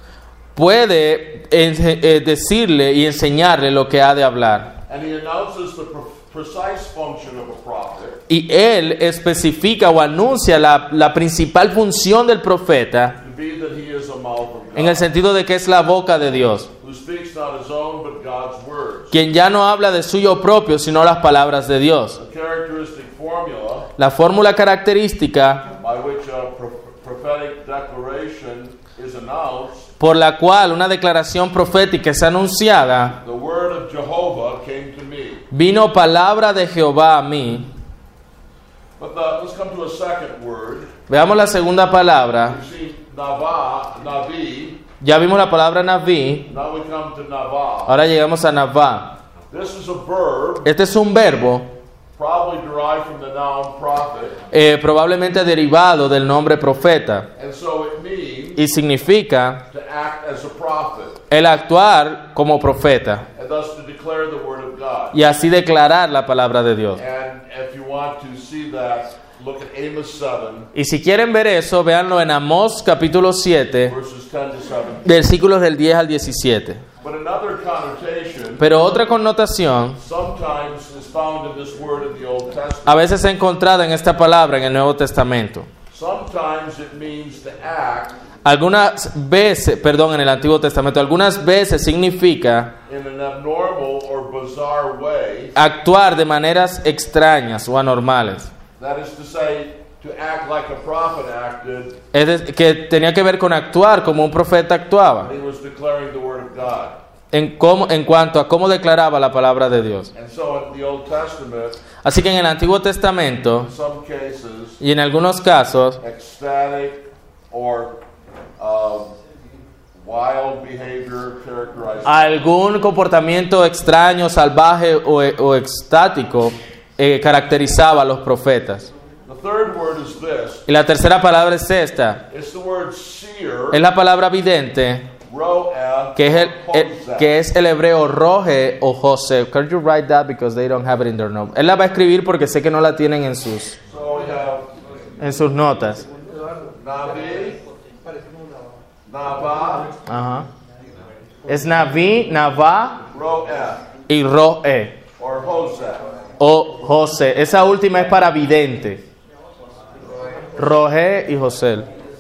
puede decirle y enseñarle lo que ha de hablar. And he announces the precise function of a prophet. Y Él especifica o anuncia la principal función del profeta To be that he is a mouth of God, en el sentido de que es la boca de Dios, who speaks not his own but God's words. quien ya no habla de suyo propio, sino las palabras de Dios. A characteristic formula La fórmula característica by which a prophetic declaration is announced. por la cual una declaración profética es anunciada: The word of Jehovah came to me. vino palabra de Jehová a mí. But let's come to a second word. Veamos la segunda palabra. You see, Navi. Ya vimos la palabra Naví, Now we come to Navah. ahora llegamos a Navá. This is a verb, Este es un verbo probably derived from the noun prophet, probablemente derivado del nombre profeta, and so it means y significa to act as a prophet, el actuar como profeta and thus to declare the word of God. y así declarar la palabra de Dios. And if you want to see that, look at Amos 7, Y si quieren ver eso, véanlo en Amós capítulo 7, verses 10 to 17. versículos del 10 al 17. But another connotation Pero otra connotación sometimes is found in this word in the Old Testament. a veces es encontrada en esta palabra en el Nuevo Testamento. Sometimes it means to act Algunas veces, en el Antiguo Testamento, algunas veces significa in an abnormal or bizarre way. actuar de maneras extrañas o anormales. That is to say, to act like a prophet acted Que tenía que ver con actuar como un profeta actuaba, when he was declaring the word of God. en cuanto a cómo declaraba la palabra de Dios. And so in the Old Testament, Así que en el Antiguo Testamento, in some cases, y en algunos casos, ecstatic or wild behavior characterized. algún comportamiento extraño, salvaje o extático caracterizaba a los profetas. The third word is this. Y la tercera palabra es esta, It's the word seer, es la palabra vidente, ro'eh, que es el hebreo roje o José. Can you write that because they don't have it in their notes? Él la va a escribir porque sé que no la tienen en sus So we have notas. Navi, Navah, Ajá. Es Naví, Navá ro'eh, y Roe or Hosea. o José. Esa última es para vidente. Roge y José.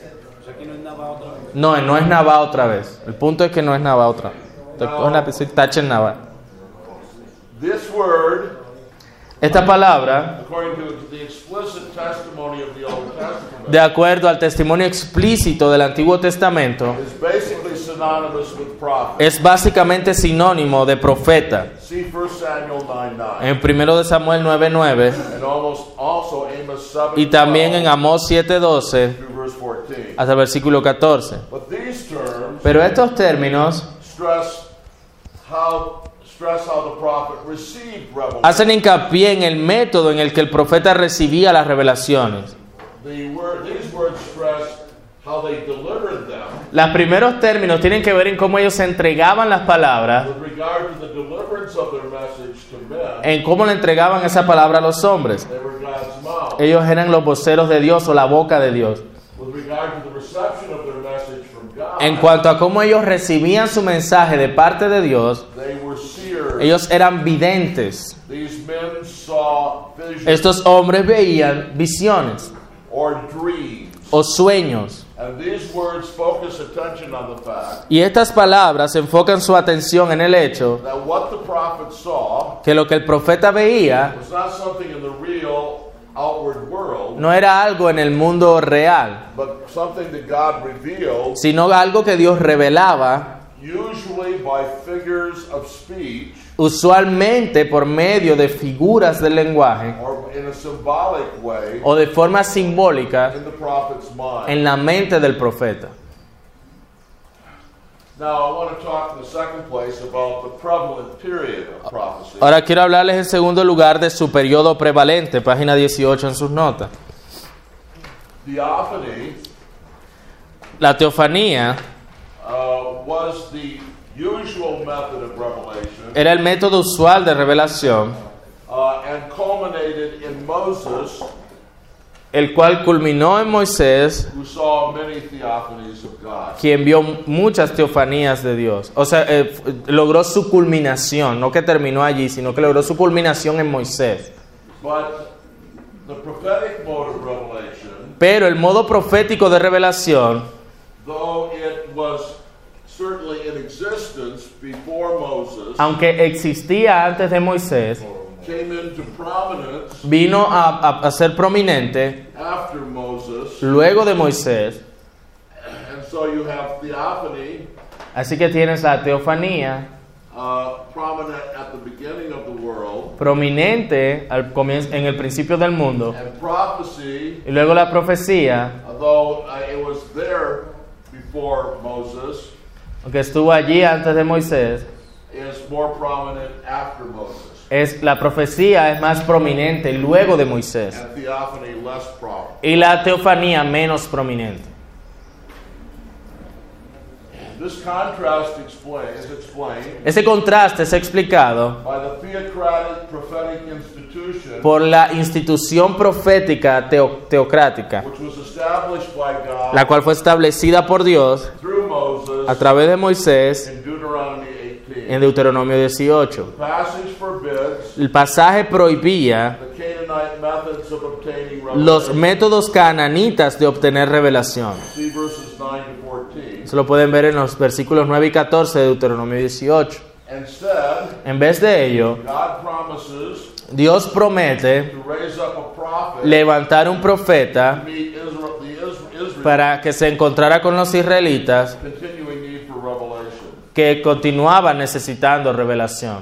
No es Navá otra vez. El punto es que no es Navá otra vez. Entonces, cogen la lapicera y tachen Navá. This word, Esta palabra, according to the explicit testimony of the Old Testament, de acuerdo al testimonio explícito del Antiguo Testamento, is basically synonymous with prophet. es básicamente sinónimo de profeta. See 1 Samuel 9:9, En 1 de Samuel 9:9 and also Amos 7 y también en Amós 7:12 through verse 14. hasta el versículo 14. But these terms Pero estos términos stress how the prophet received revelation. hacen hincapié en el método en el que el profeta recibía las revelaciones. These words stress how they delivered them Los primeros términos tienen que ver en cómo ellos entregaban las palabras, with regard to the deliverance of their message to men. en cómo le entregaban esa palabra a los hombres. They were God's mouth. Ellos eran los voceros de Dios o la boca de Dios. With regard to the reception of their message from God, En cuanto a cómo ellos recibían su mensaje de parte de Dios, they were seers. ellos eran videntes. These men saw visions Estos hombres veían visiones or dreams. o sueños. And these words focus attention on the fact Y estas palabras enfocan su atención en el hecho that what the prophet saw que lo que el profeta veía was not something in the real outward world, no era algo en el mundo real, but something that God revealed, sino algo que Dios revelaba, usually by figures of speech usualmente por medio de figuras del lenguaje or in a symbolic way o de forma simbólica in the prophet's mind. en la mente del profeta. Now, I want to talk in the second place about the prevalent period of prophecy. Ahora quiero hablarles en segundo lugar de su periodo prevalente, página 18 en sus notas. Theophany La teofanía was the usual method of revelation, era el método usual de revelación, and culminated in Moses, el cual culminó en Moisés, who saw many theophanies of God. quien vio muchas teofanías de Dios. O sea, logró su culminación, no que terminó allí, sino que logró su culminación en Moisés. But the prophetic mode of revelation, Pero el modo profético de revelación, though it was certainly in existence before Moses, aunque existía antes de Moisés, came into prominence vino a ser prominente after Moses. luego de Moisés. And so you have theophany Así que tienes la teofanía prominent at the beginning of the world, prominente al comienzo, en el principio del mundo, and prophecy, y luego la profecía, although it was there before Moses, aunque estuvo allí antes de Moisés, is more prominent after Moses, la profecía es más prominente luego de Moisés and theophany less prominent. y la teofanía menos prominente. This contrast is explained Ese contraste es explicado by the theocratic prophetic institution, por la institución profética teocrática, which was established by God la cual fue establecida por Dios through Moses a través de Moisés in Deuteronomy 18. en Deuteronomio 18. The passage forbids El pasaje prohibía the Canaanite methods of obtaining los revelation. métodos cananitas de obtener revelación. See verses 9 to 14. Eso lo pueden ver en los versículos 9 y 14 de Deuteronomio 18. Instead, En vez de ello, God promises Dios promete to raise up a prophet levantar un profeta to meet Israel para que se encontrara con los israelitas continuing need for revelation. que continuaban necesitando revelación.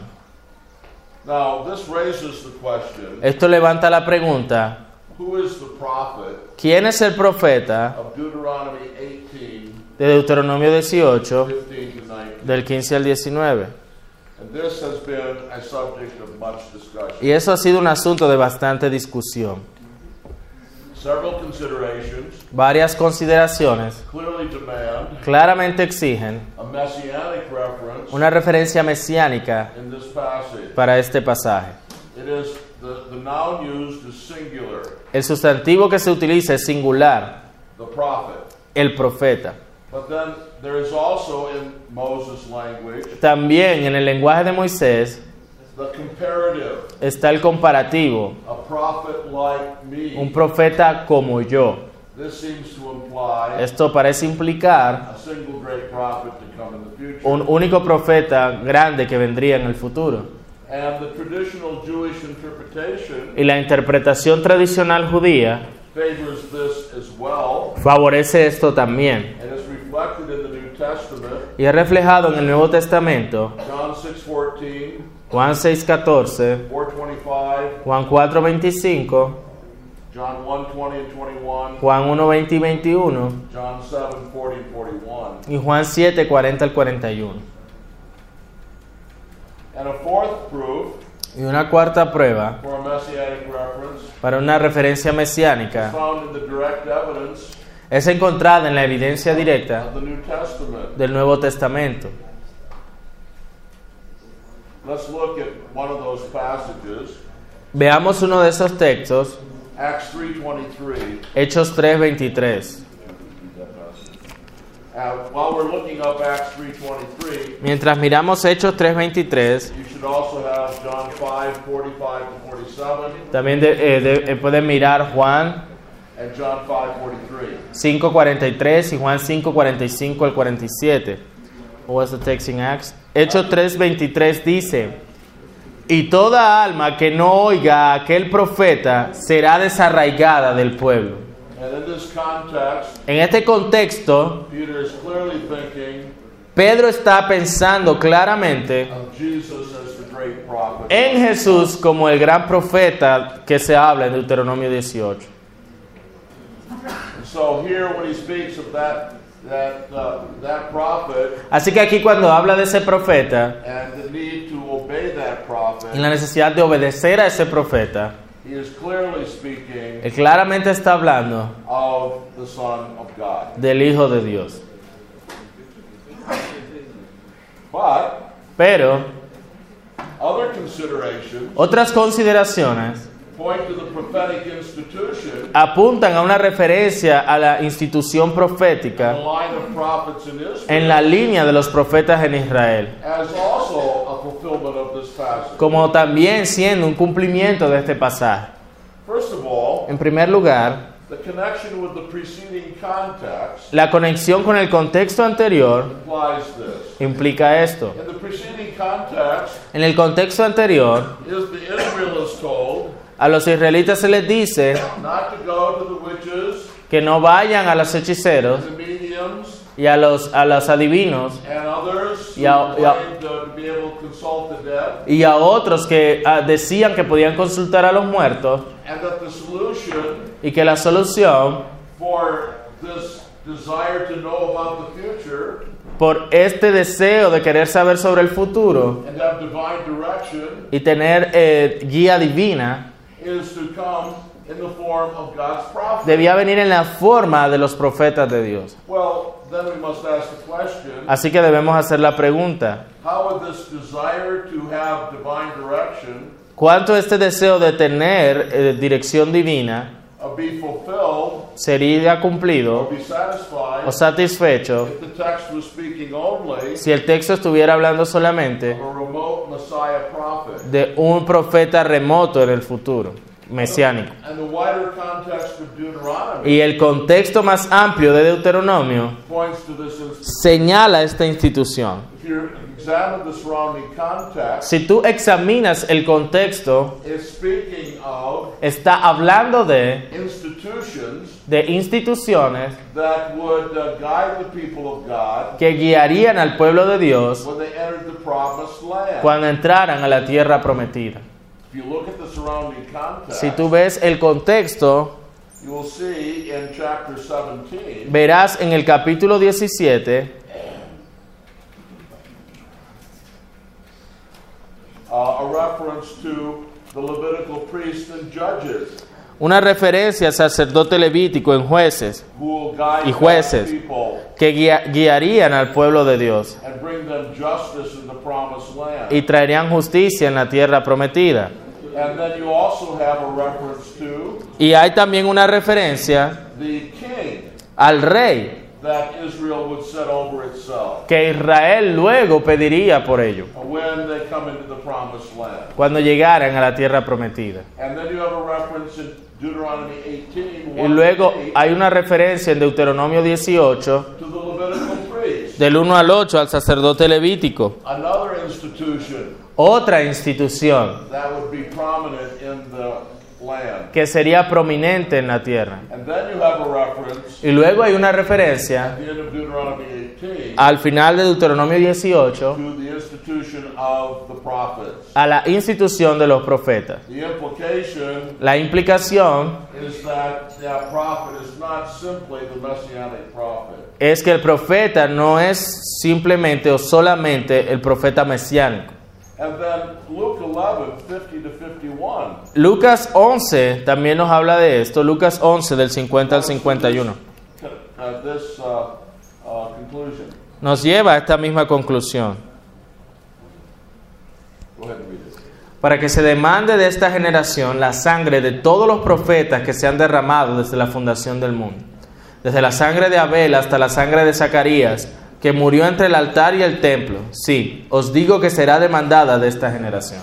Now, this raises the question, Esto levanta la pregunta, who is the prophet ¿quién es el profeta of Deuteronomy 18, de Deuteronomio 18, 15 to 19? del 15 al 19? And this has been a subject of much discussion. Y eso ha sido un asunto de bastante discusión. Several considerations Varias consideraciones clearly demand claramente exigen a messianic reference una referencia mesiánica in this passage. para este pasaje. It is the noun used is singular, El sustantivo que se utiliza es singular, the prophet. el profeta. But then there is also in Moses' language También en el lenguaje de Moisés the comparative, está el comparativo, a prophet like un me. profeta como yo. This seems to imply Esto parece implicar a single great prophet to come in the future. un único profeta grande que vendría en el futuro. And the traditional Jewish interpretation Y la interpretación tradicional judía favors this as well, favorece esto también. and is reflected in the New Testament, Y es reflejado en el Nuevo Testamento, John 6:14, Juan 6:14, 4:25, Juan 4:25, John 1:20 and 21, Juan 1:20 y 21 John 7:40 and 41. y Juan 7:40 al 41. And a fourth proof Y una cuarta prueba for a messianic reference para una referencia mesiánica found in the direct evidence es encontrada en la evidencia directa of the New Testament. del Nuevo Testamento. Let's look at one of those passages, Veamos uno de esos textos, Acts 3:23. Hechos 3:23. While we're looking up Acts 3:23, Mientras miramos Hechos 3:23, you should also have John 5:45 to 47 también pueden mirar Juan and John 5:43. 5:43 y Juan 5:45 al 47. What was the text in Acts? Hechos 3:23 dice: y toda alma que no oiga a aquel profeta será desarraigada del pueblo. And in this context, En este contexto, Peter is clearly thinking Pedro está pensando claramente of Jesus as the great prophet. en Jesús como el gran profeta que se habla en Deuteronomio 18. And so here when he speaks of that prophet Así que aquí cuando habla de ese profeta and the need to obey that prophet, y la necesidad de obedecer a ese profeta, he is clearly speaking él claramente está hablando of the Son of God. del Hijo de Dios. Pero other considerations otras consideraciones point to the prophetic institution apuntan a una referencia a la institución the profética line of prophets in Israel en la línea de los profetas en Israel, as also a fulfillment of this passage. como también siendo un cumplimiento de este pasaje. First of all, En primer lugar, the connection with the preceding context la conexión con el contexto anterior implies this. implica esto. In the preceding context, En el contexto anterior, Israel is told a los israelitas se les dice not to go to the witches, que no vayan a los hechiceros the mediums, y a los adivinos and others Y a- who claim to be able to consult the dead, y a otros que decían que podían consultar a los muertos, and that the solution y que la solución for this desire to know about the future por este deseo de querer saber sobre el futuro and have divine direction y tener guía divina is to come in the form of God's prophet. debía venir en la forma de los profetas de Dios. Well, then we must ask the question, Así que debemos hacer la pregunta: how would this desire to have divine direction ¿cuánto este deseo de tener dirección divina be fulfilled sería or cumplido be satisfied o satisfecho if the text was speaking only si el texto estuviera hablando solamente of a remote Messiah prophet? de un profeta remoto en el futuro, mesiánico? And the wider context of Deuteronomy Y el contexto más amplio de Deuteronomio points to this institution. señala esta institución. If you examine the surrounding context, Si tú examinas el contexto, it's speaking of está hablando de instituciones that would guide the people of God que guiarían al pueblo de Dios when they entered the promised land. cuando entraran a la tierra prometida. If you look at the surrounding context, Si tú ves el contexto, you will see in chapter 17 verás en el capítulo 17 a reference to the Levitical priests and judges una referencia al sacerdote levítico en jueces who will guide y jueces God's people que guiarían al pueblo de Dios and bring them justice in the promised land. y traerían justicia en la tierra prometida. And then you also have a reference to Y hay también una referencia the king al rey that Israel would set over itself que Israel luego pediría por ello when they come into the promised land. cuando llegaran a la tierra prometida. And then you have a reference in Deuteronomy 18, Y luego 1-8, hay una referencia en Deuteronomio 18 to the Levitical priest, del 1 al 8 al sacerdote levítico, another institution otra institución that would be prominent in the land. que sería prominente en la tierra. And then you have a reference Y luego hay una referencia at the end of Deuteronomy 18 al final de Deuteronomio 18 to the institution of the prophets. a la institución de los profetas. The implication La implicación is that that prophet is not simply the messianic prophet. es que el profeta no es simplemente o solamente el profeta mesiánico. And then Luke 11, 50 to 51. Lucas 11 también nos habla de esto. Lucas 11 del 50 al 51 Conclusion. nos lleva a esta misma conclusión. Go ahead and read it. Para que se demande de esta generación la sangre de todos los profetas que se han derramado desde la fundación del mundo, desde la sangre de Abel hasta la sangre de Zacarías, que murió entre el altar y el templo. Sí, os digo que será demandada de esta generación.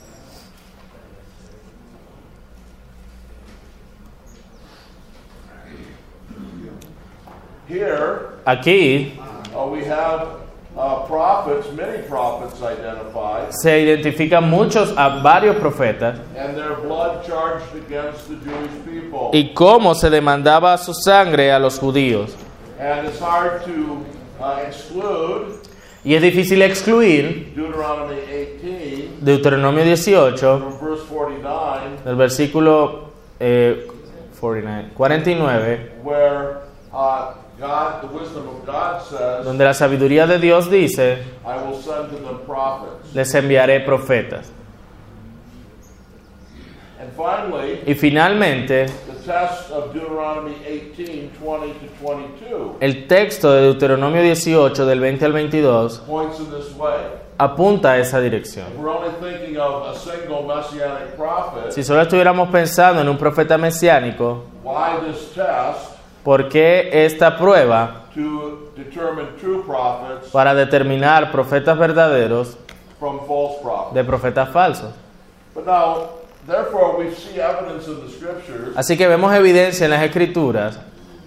Here Aquí we have prophets, many prophets identified, se identifican varios profetas and their blood charged against the Jewish people. y cómo se demandaba su sangre a los judíos. And it's hard to exclude Y es difícil excluir Deuteronomy 18 Deuteronomio 18 from verse 49, del versículo 49, where God, the wisdom of God says, donde la sabiduría de Dios dice: I will send to them prophets. les enviaré profetas. And finally, Y finalmente, the text of Deuteronomy 18, 20 to 22 El texto de Deuteronomio 18, del 20 al 22, points in this way. apunta a esa dirección. If we're only thinking of a single messianic prophet, Si solo estuviéramos pensando en un profeta mesiánico, why this test ¿por qué esta prueba to determine true prophets para determinar profetas verdaderos from false prophets? de profetas falsos? But now, therefore, we see evidence in the scriptures Así que vemos evidencia en las Escrituras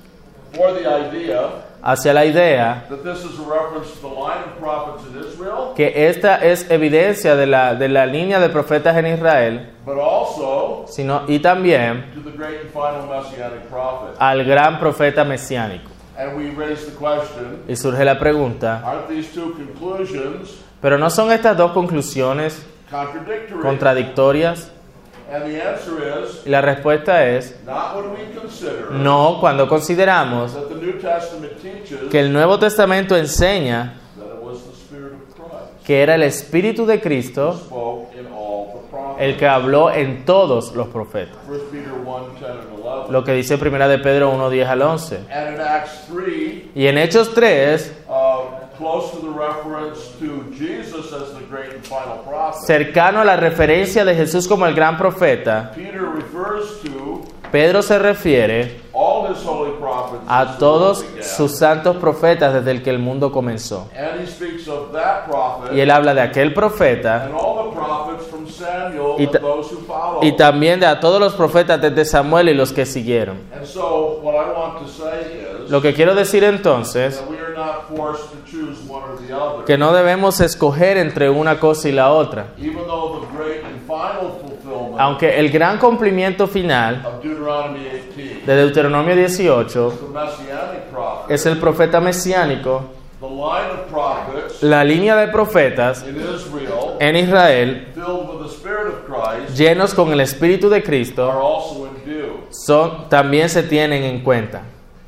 for the idea hacia la idea that this is a reference to the line of prophets in Israel, que esta es evidencia de la línea de profetas en Israel, but also y también to the great and final messianic prophet. al gran profeta mesiánico. And we raise the question, Y surge la pregunta, aren't these two conclusions ¿pero no son estas dos conclusiones contradictory? contradictorias? And the answer is, Y la respuesta es not when we consider no, cuando consideramos that the New Testament teaches que el Nuevo Testamento enseña that it was the Spirit of Christ que era el Espíritu de Cristo spoke in all the prophets. el que habló en todos los profetas. 1 Peter 1, 10 and 11. Lo que dice 1 de Pedro 1, 10 al 11. And in Acts 3, Y en Hechos 3, close to the reference to Jesus as the great and final prophet, cercano a la referencia de Jesús como el gran profeta, Peter refers to Pedro se refiere all his holy prophets a since the todos world began. sus santos profetas desde el que el mundo comenzó. And he speaks of that prophet Y él habla de aquel profeta and all the prophets from Samuel Y and ta- those who follow. y también de a todos los profetas desde Samuel y los que siguieron. And so what I want to say is Lo que quiero decir entonces, that we are not forced to choose one or the other. que no debemos escoger entre una cosa y la otra. Even though the great and final fulfillment Aunque el gran cumplimiento final of Deuteronomy 18 de Deuteronomio 18 is the messianic prophet, es el profeta mesiánico, the line of prophets la línea de profetas in Israel en Israel, filled with the Spirit of Christ llenos con el Espíritu de are Cristo, also in view. también se tienen en cuenta.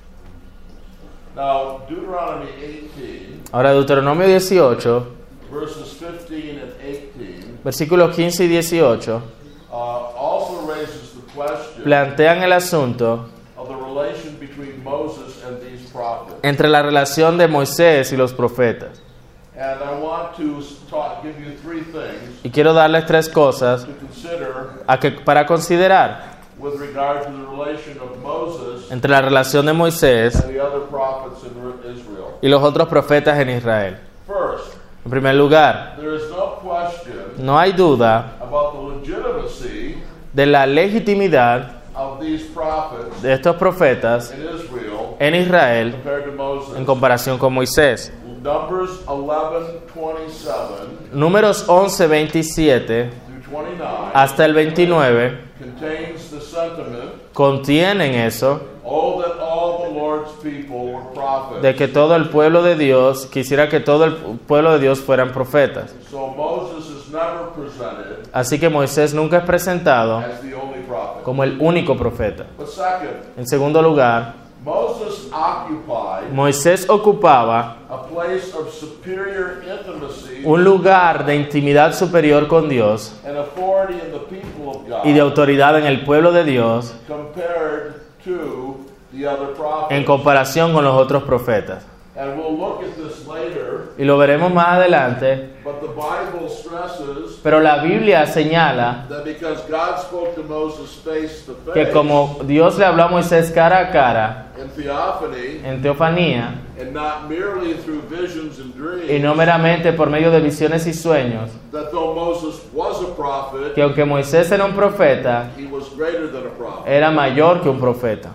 Now, Deuteronomy 18, Ahora, Deuteronomio 18, verses 15 and 18, versículos 15 y 18, also raises the question plantean el asunto of the relation between Moses and these prophets. entre la relación de Moisés y los profetas. And I want to give you three things Y quiero darles tres cosas to consider para considerar with regard to the relation of Moses entre la relación de Moisés and the other prophets in Israel. y los otros profetas en Israel. First, En primer lugar, there is no question no hay duda about the legitimacy de la legitimidad of these prophets de estos profetas in Israel en Israel compared to Moses. en comparación con Moisés. Numbers 11:27 Números 11, 27 through 29 hasta el 29 contains the sentiment, contienen eso oh, that all the Lord's people were prophets. de que todo el pueblo de Dios, quisiera que todo el pueblo de Dios fueran profetas. So Moses is never presented Así que Moisés nunca es presentado as the only prophet. como el único profeta. But second, En segundo lugar, Moses occupied Moisés ocupaba a place of superior intimacy un lugar de intimidad superior con Dios and authority in the people of God y de autoridad en el pueblo de Dios compared to the other en prophets. comparación con los otros profetas. And we'll look at this later, Y lo veremos más adelante, but the Bible stresses pero la Biblia señala that because God spoke to Moses face to que face como Dios le habló a Moisés cara a cara, in theophany en teofanía, and not merely through visions and dreams, y no meramente por medio de visiones y sueños, that though Moses was a prophet, que aunque Moisés era un profeta, he was greater than a prophet. era mayor que un profeta.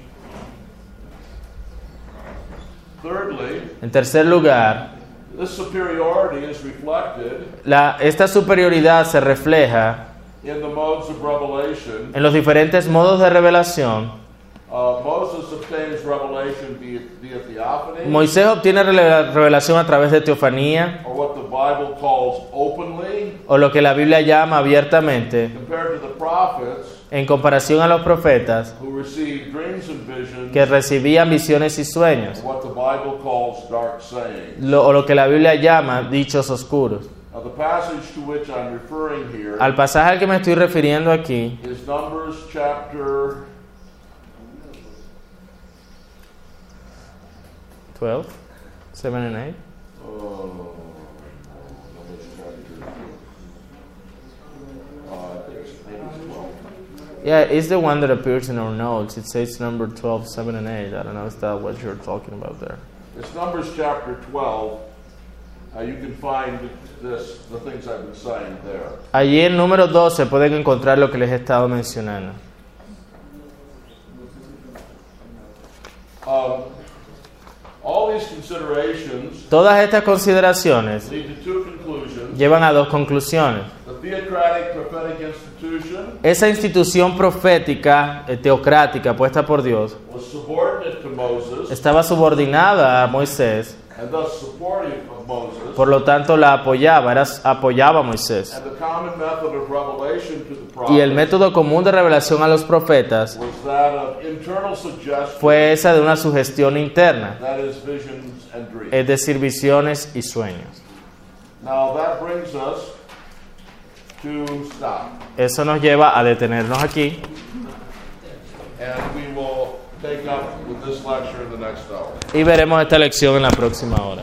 Thirdly, En tercer lugar, this superiority is reflected esta superioridad se refleja in the modes of revelation. en los diferentes modos de revelación. Moses obtains revelation via theophany, Moisés obtiene revelación a través de teofanía, or what the Bible calls openly, o lo que la Biblia llama abiertamente, compared to the prophets en comparación a los profetas who receive dreams and visions, que recibían visiones y sueños, or what the Bible calls dark sayings. o lo que la Biblia llama dichos oscuros. Now, the passage to which I'm referring here Al pasaje al que me estoy refiriendo aquí is Numbers chapter 12, 7 and 8. Numbers chapter. I think it's maybe 12. Yeah, it's the one that appears in our notes. It says number 12, 7 and 8. I don't know if that's what you're talking about there. It's Numbers chapter 12. You can find the things I've been saying there. Allí en número 12 pueden encontrar lo que les he estado mencionando. All these considerations Todas estas consideraciones lead to two conclusions. llevan a dos conclusiones. The theocratic prophetic institution Esa institución profética, teocrática, puesta por Dios, was subordinate to Moses estaba subordinada a Moisés, and thus supportive of Moses. por lo tanto la apoyaba, apoyaba a Moisés. And the common method of revelation to the Y el prophets método común de revelación a los profetas was that of internal suggestion, fue esa de una sugestión interna, that is, visions and dreams. es decir, visiones y sueños. Now that brings us to stop, Eso nos lleva a detenernos aquí and we will take up with this lecture in the next hour. y veremos esta lección en la próxima hora.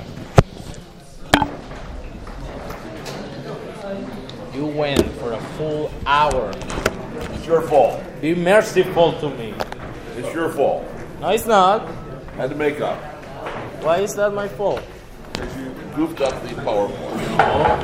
You went for a full hour. It's your fault. Be merciful to me. It's your fault. No, it's not. I had to make up. Why is that my fault? Because you goofed up the PowerPoint.